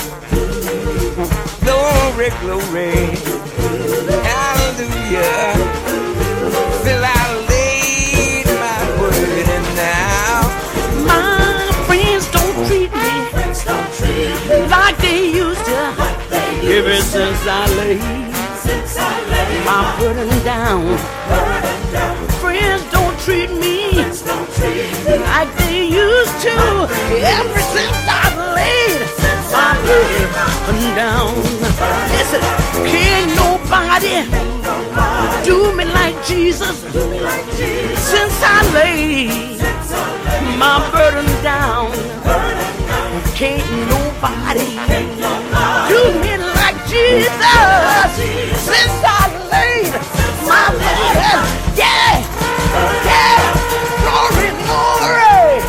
glory, glory, hallelujah. Since I laid my burden down. My friends don't treat me like they used to, ever since I laid my burden down. Friends don't treat me like they used to, ever since I laid my burden down. Listen, can't nobody do me like Jesus, since I laid my burden down. Can't nobody do me like Jesus, since I laid my burden. Yeah, yeah, glory, glory,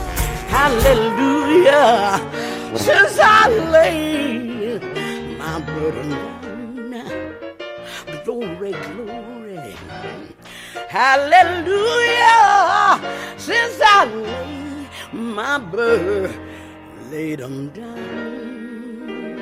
hallelujah, since I laid my burden down. Glory, glory, hallelujah, since I laid my burden, laid them down.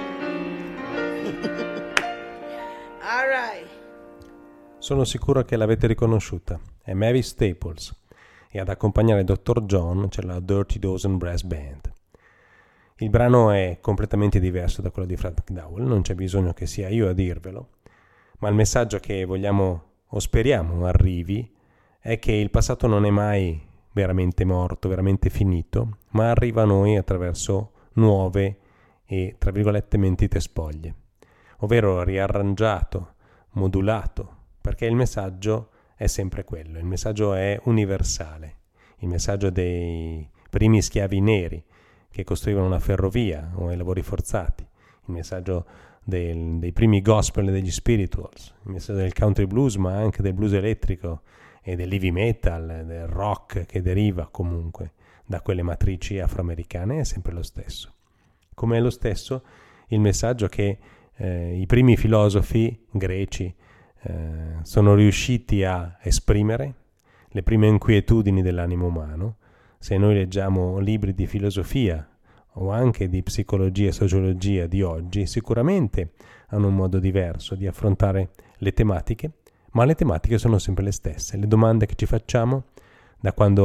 All right. Sono sicuro che l'avete riconosciuta, è Mavis Staples, e ad accompagnare il dottor John c'è la Dirty Dozen Brass Band. Il brano è completamente diverso da quello di Fred McDowell, non c'è bisogno che sia io a dirvelo, ma il messaggio che vogliamo o speriamo arrivi è che il passato non è mai veramente morto, veramente finito, ma arriva a noi attraverso nuove e, tra virgolette, mentite spoglie, ovvero riarrangiato, modulato, perché il messaggio è sempre quello, il messaggio è universale, il messaggio dei primi schiavi neri che costruivano una ferrovia o i lavori forzati, il messaggio del, dei primi gospel e degli spirituals, il messaggio del country blues, ma anche del blues elettrico e dell'heavy metal, del rock che deriva comunque da quelle matrici afroamericane, è sempre lo stesso. Come è lo stesso il messaggio che eh, i primi filosofi greci eh, sono riusciti a esprimere, le prime inquietudini dell'animo umano. Se noi leggiamo libri di filosofia o anche di psicologia e sociologia di oggi, sicuramente hanno un modo diverso di affrontare le tematiche, ma le tematiche sono sempre le stesse. Le domande che ci facciamo da quando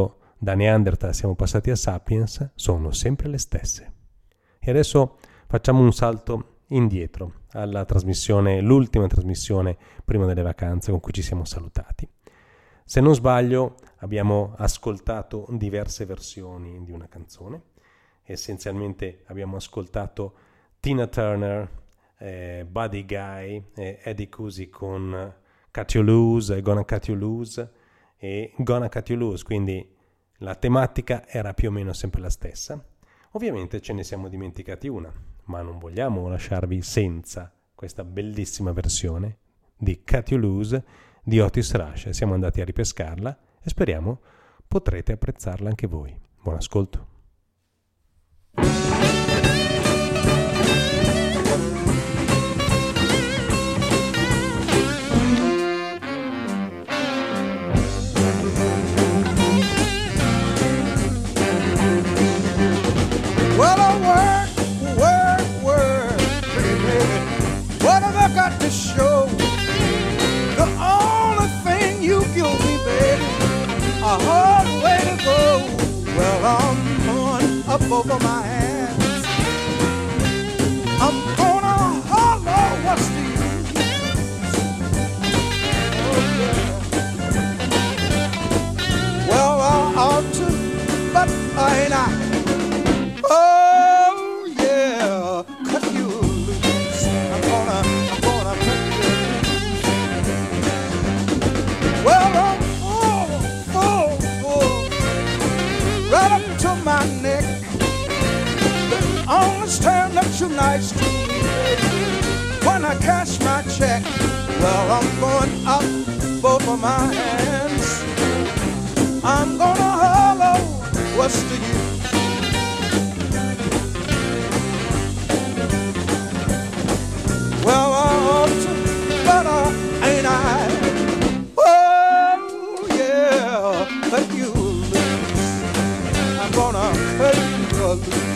da Neanderthal siamo passati a Sapiens, sono sempre le stesse. E adesso facciamo un salto indietro alla trasmissione, l'ultima trasmissione prima delle vacanze con cui ci siamo salutati. Se non sbaglio abbiamo ascoltato diverse versioni di una canzone. Essenzialmente abbiamo ascoltato Tina Turner, eh, Buddy Guy, eh, Eddie Cusi con Cut You Loose, Gonna Cut You Loose e Gonna Cut You Loose, quindi la tematica era più o meno sempre la stessa. Ovviamente ce ne siamo dimenticati una, ma non vogliamo lasciarvi senza questa bellissima versione di Cut You Loose di Otis Rush. Siamo andati a ripescarla e speriamo potrete apprezzarla anche voi. Buon ascolto. Well, I work, work, work, pretty baby. What have I got to show? The only thing you give me, baby, a hard way to go. Well, I'm going up over my hands. I'm gonna holler, what's the use? Oh, yeah. Well, I ought to, but I ain't I. Oh, yeah, cut you loose. I'm gonna, I'm gonna cut you loose. Well, I'm full, full, full, right up to my neck. The only time that you're nice to me, baby, when I cash my check. Well, I'm going up both of my hands. I'm gonna holler, what's the use? Well, I ought to, but uh, ain't I? Oh, yeah, cut you loose. I'm gonna cut you loose.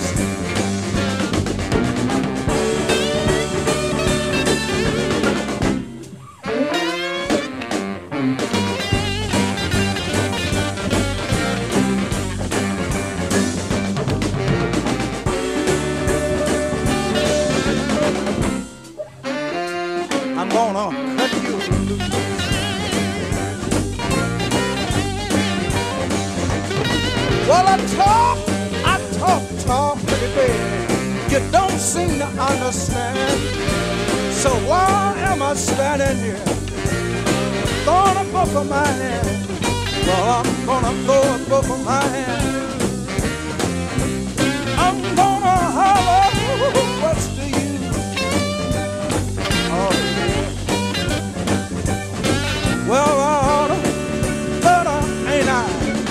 I'm gonna cut you loose. Well, I talk, I talk, talk, pretty baby. You don't seem to understand. So why am I standing here, throwing up both of my hands? Well, I'm gonna throw up both of my hands. I'm gonna holler, what's the use? Oh, yeah. Well, I oughta, but I ain't I?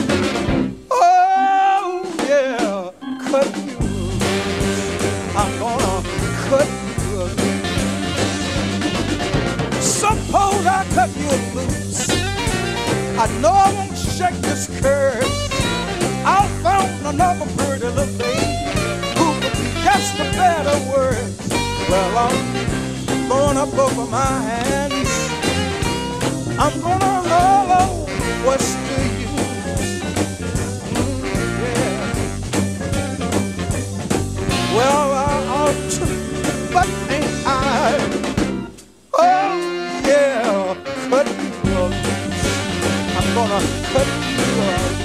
Oh, yeah, cut you loose. I'm gonna cut you loose. Suppose I cut you loose. I know I won't shake this curse. I found another pretty little baby who could be just a better word. Well, I'm going up over my hands. I'm gonna holler, what's the use? Mm, yeah. Well, I ought to, but ain't I? Oh, yeah, cut you loose. I'm gonna cut you loose.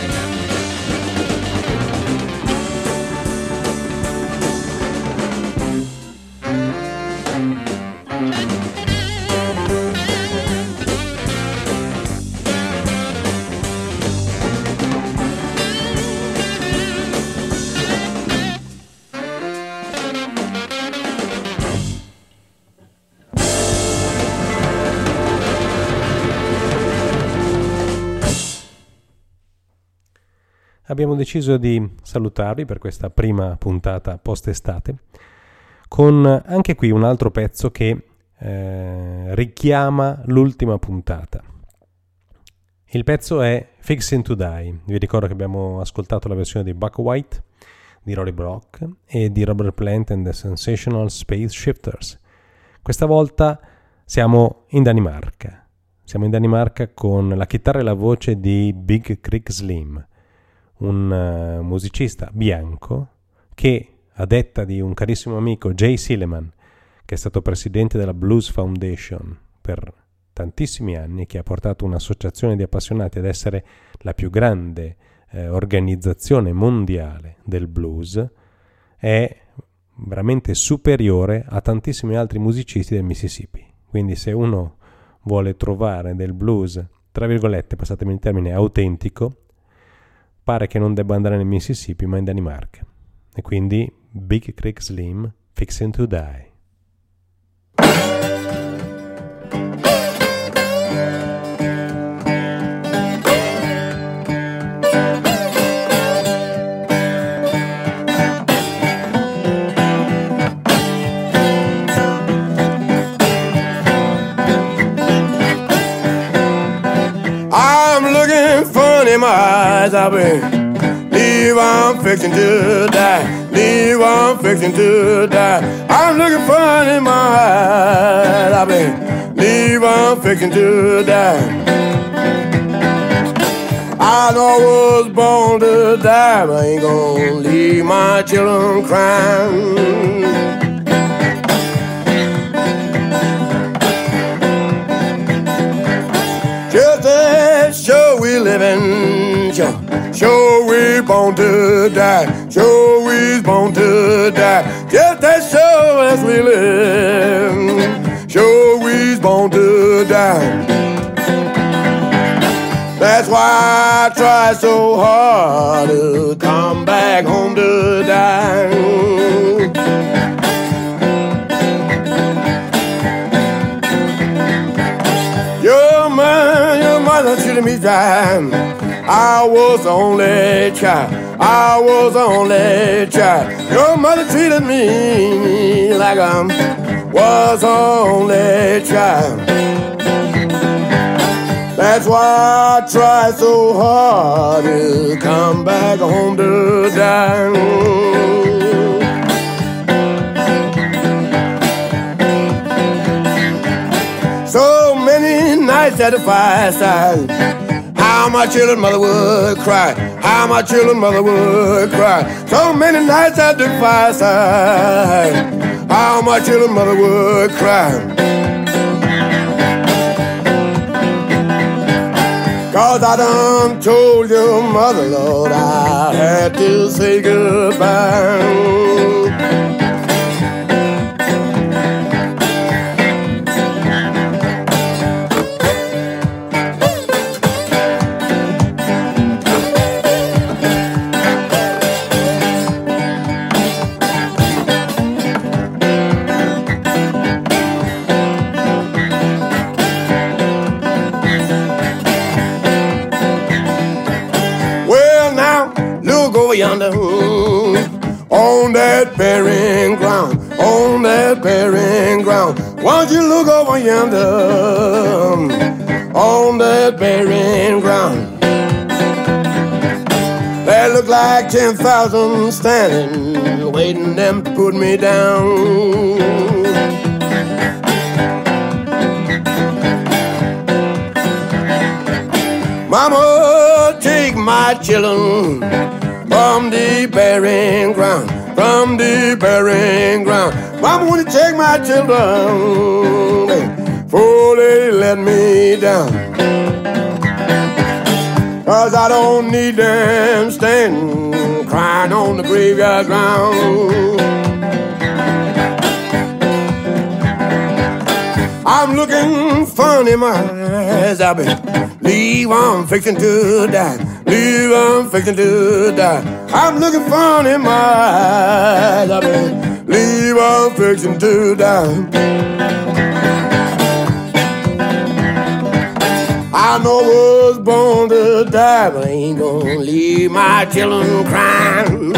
Abbiamo deciso di salutarvi per questa prima puntata post-estate con anche qui un altro pezzo che eh, richiama l'ultima puntata. Il pezzo è Fixing to Die. Vi ricordo che abbiamo ascoltato la versione di Buck White, di Rory Block e di Robert Plant and the Sensational Space Shifters. Questa volta siamo in Danimarca. Siamo in Danimarca con la chitarra e la voce di Big Creek Slim. un uh, musicista bianco che, a detta di un carissimo amico, Jay Silliman, che è stato presidente della Blues Foundation per tantissimi anni, che ha portato un'associazione di appassionati ad essere la più grande eh, organizzazione mondiale del blues, è veramente superiore a tantissimi altri musicisti del Mississippi. Quindi se uno vuole trovare del blues, tra virgolette, passatemi il termine, autentico, pare che non debba andare nel Mississippi ma in Danimarca. E quindi Big Creek Slim, Fixin' to Die. In my eyes, I've been leave, I'm fixing to die. Leave, I'm fixing to die. I'm looking fun in my eyes, I've been leave, I'm fixing to die. I know I was born to die, but I ain't gonna leave my children crying. Just as sure we living, sure, sure we born to die, sure we born to die. Just as sure as we live, sure we born to die. That's why I try so hard to come back home to die. Treated me dry. I was the only child. I was the only child. Your mother treated me like I was the only child. That's why I try so hard to come back home to die. So many nights at the fireside, how my children mother would cry, how my children mother would cry. So many nights at the fireside, how my children mother would cry. Cause I done told your mother, Lord, I had to say goodbye. Yonder, on that barren ground, on that barren ground. Won't you look over yonder, on that barren ground? There look like ten thousand standing, waiting them to put me down. Mama, take my children from the barren ground, from the barren ground. Mama, wanna take my children before they let me down. Cause I don't need them standing, crying on the graveyard ground. I'm looking funny, my eyes, I've been leave, I'm fixing to die. Leave, I'm fixing to die. I'm looking funny in my eyes. I've been leave, I'm fixing to die. I know I was born to die, but I ain't gonna leave my children crying.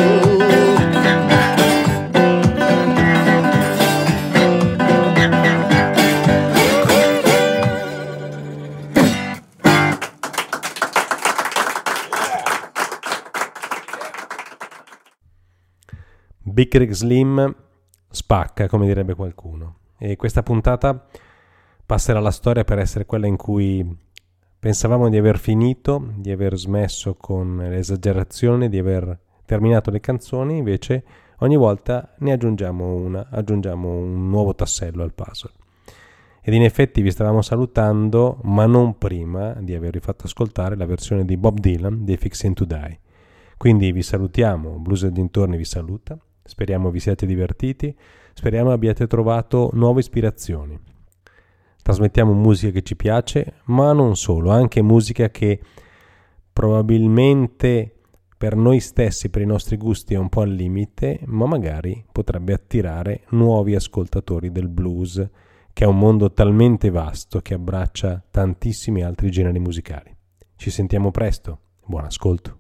Big Creek Slim spacca, come direbbe qualcuno, e questa puntata passerà alla storia per essere quella in cui Pensavamo di aver finito, di aver smesso con l'esagerazione, di aver terminato le canzoni, invece ogni volta ne aggiungiamo una, aggiungiamo un nuovo tassello al puzzle. Ed in effetti vi stavamo salutando, ma non prima di avervi fatto ascoltare la versione di Bob Dylan di Fixin' to Die. Quindi vi salutiamo, Blues e dintorni vi saluta, speriamo vi siate divertiti, speriamo abbiate trovato nuove ispirazioni. Trasmettiamo musica che ci piace, ma non solo, anche musica che probabilmente per noi stessi, per i nostri gusti è un po' al limite, ma magari potrebbe attirare nuovi ascoltatori del blues, che è un mondo talmente vasto che abbraccia tantissimi altri generi musicali. Ci sentiamo presto, buon ascolto.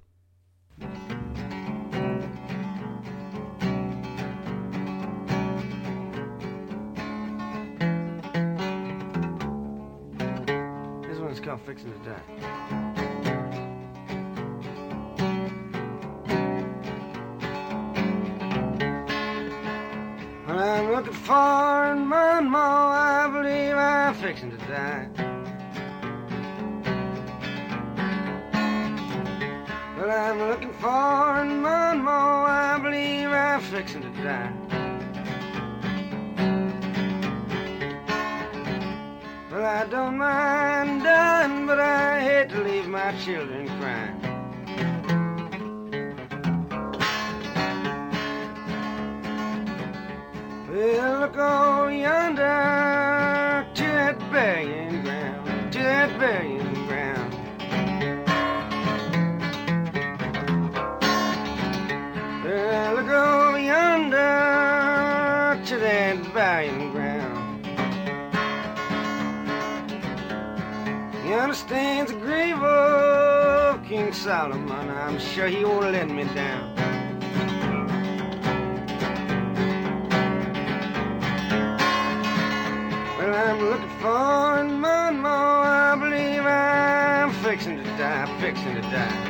Fixing to die. Well, I'm looking for in Monmouth, I believe I'm fixing to die. Well, I'm looking for in Monmouth, I believe I'm fixing to die. Well, I don't mind dying, but I hate to leave my children crying. Well, look over yonder to that burying ground, to that burying ground. Well, look over yonder to that burying ground. He understands the grave of King Solomon. I'm sure he won't let me down. Well, I'm looking for in Monmouth, I believe I'm fixing to die, fixing to die.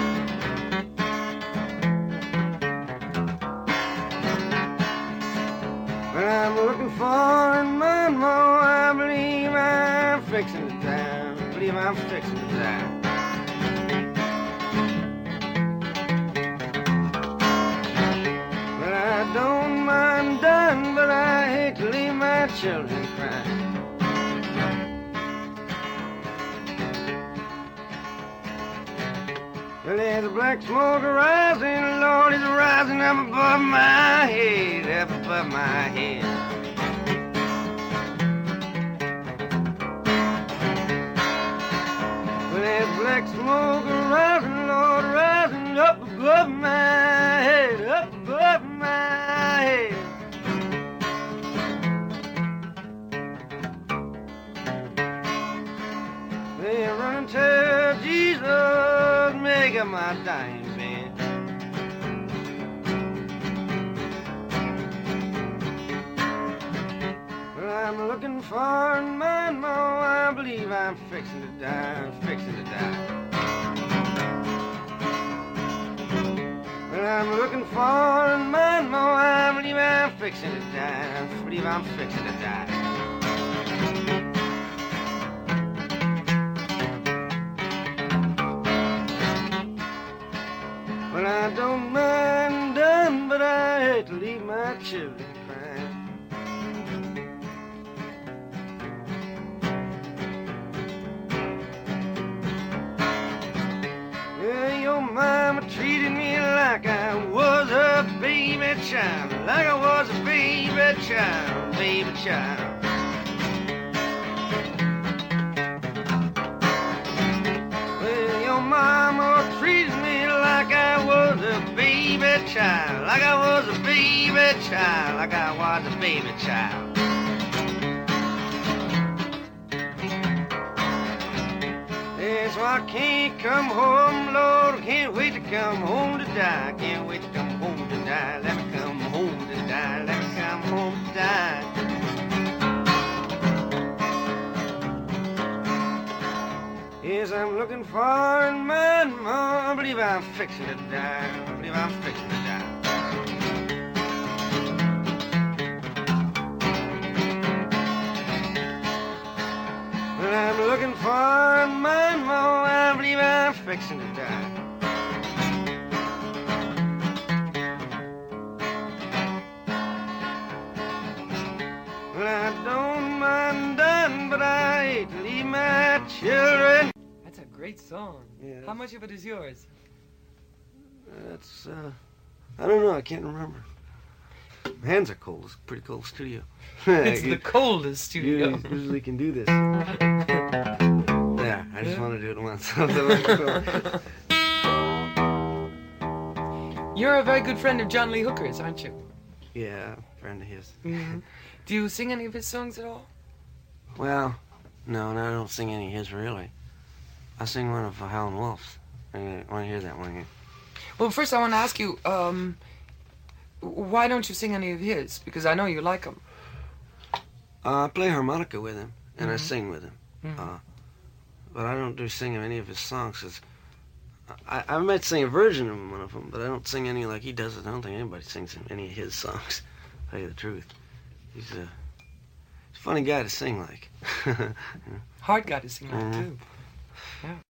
Well, I'm looking for in Monmouth, I believe I'm fixing to die. I believe I'm fixing to die. But I don't mind dying, but I hate to leave my children crying. Well, there's a black smoke rising, Lord, it's rising up above my head, up above my head. Black smoke rising, Lord, rising up above my head, up above my head. They run to Jesus, make up my dying bed. Well, I'm looking for in my mouth, I believe I'm fixing to die, I'm fixing to die. Well, I'm looking for in my mouth, I believe I'm fixing to die, I believe I'm fixing to die. Well, I don't mind dying, but I hate to leave my children crying. Well, your mama treated me like I was a baby child, like I was a baby child, baby child. Well, your mama treated me like I was a baby child, like I was a baby child, like I was a baby child. Yeah, so I can't come home, Lord, I can't wait to come home to die, can't wait to come home to die, let me come home to die, let me come home to die. Yes, I'm looking for in my mom, I believe I'm fixing to die, I believe I'm fixing to die. Well, I'm looking for in my mom, fixing to die. Well, I don't mind dying, but I hate to leave my children. That's a great song. Yeah. How much of it is yours? That's, uh, I don't know, I can't remember. My hands are cold. It's a pretty cold studio. It's the coldest studio. You usually can do this. There, I just want to do it once. You're a very good friend of John Lee Hooker's, aren't you? Yeah, friend of his. Mm-hmm. Do you sing any of his songs at all? Well, no, no, I don't sing any of his, really. I sing one of uh, Howlin' Wolf's. I want to hear that one again. Well, first I want to ask you, um, why don't you sing any of his? Because I know you like him. Uh, I play harmonica with him, and Mhm. I sing with him. Mhm. Uh, but I don't do sing of any of his songs, 'cause I, I might sing a version of one of them, but I don't sing any like he does it. I don't think anybody sings any of his songs, to tell you the truth. He's a, he's a funny guy to sing like. Hard guy to sing like, Mhm. too. Yeah.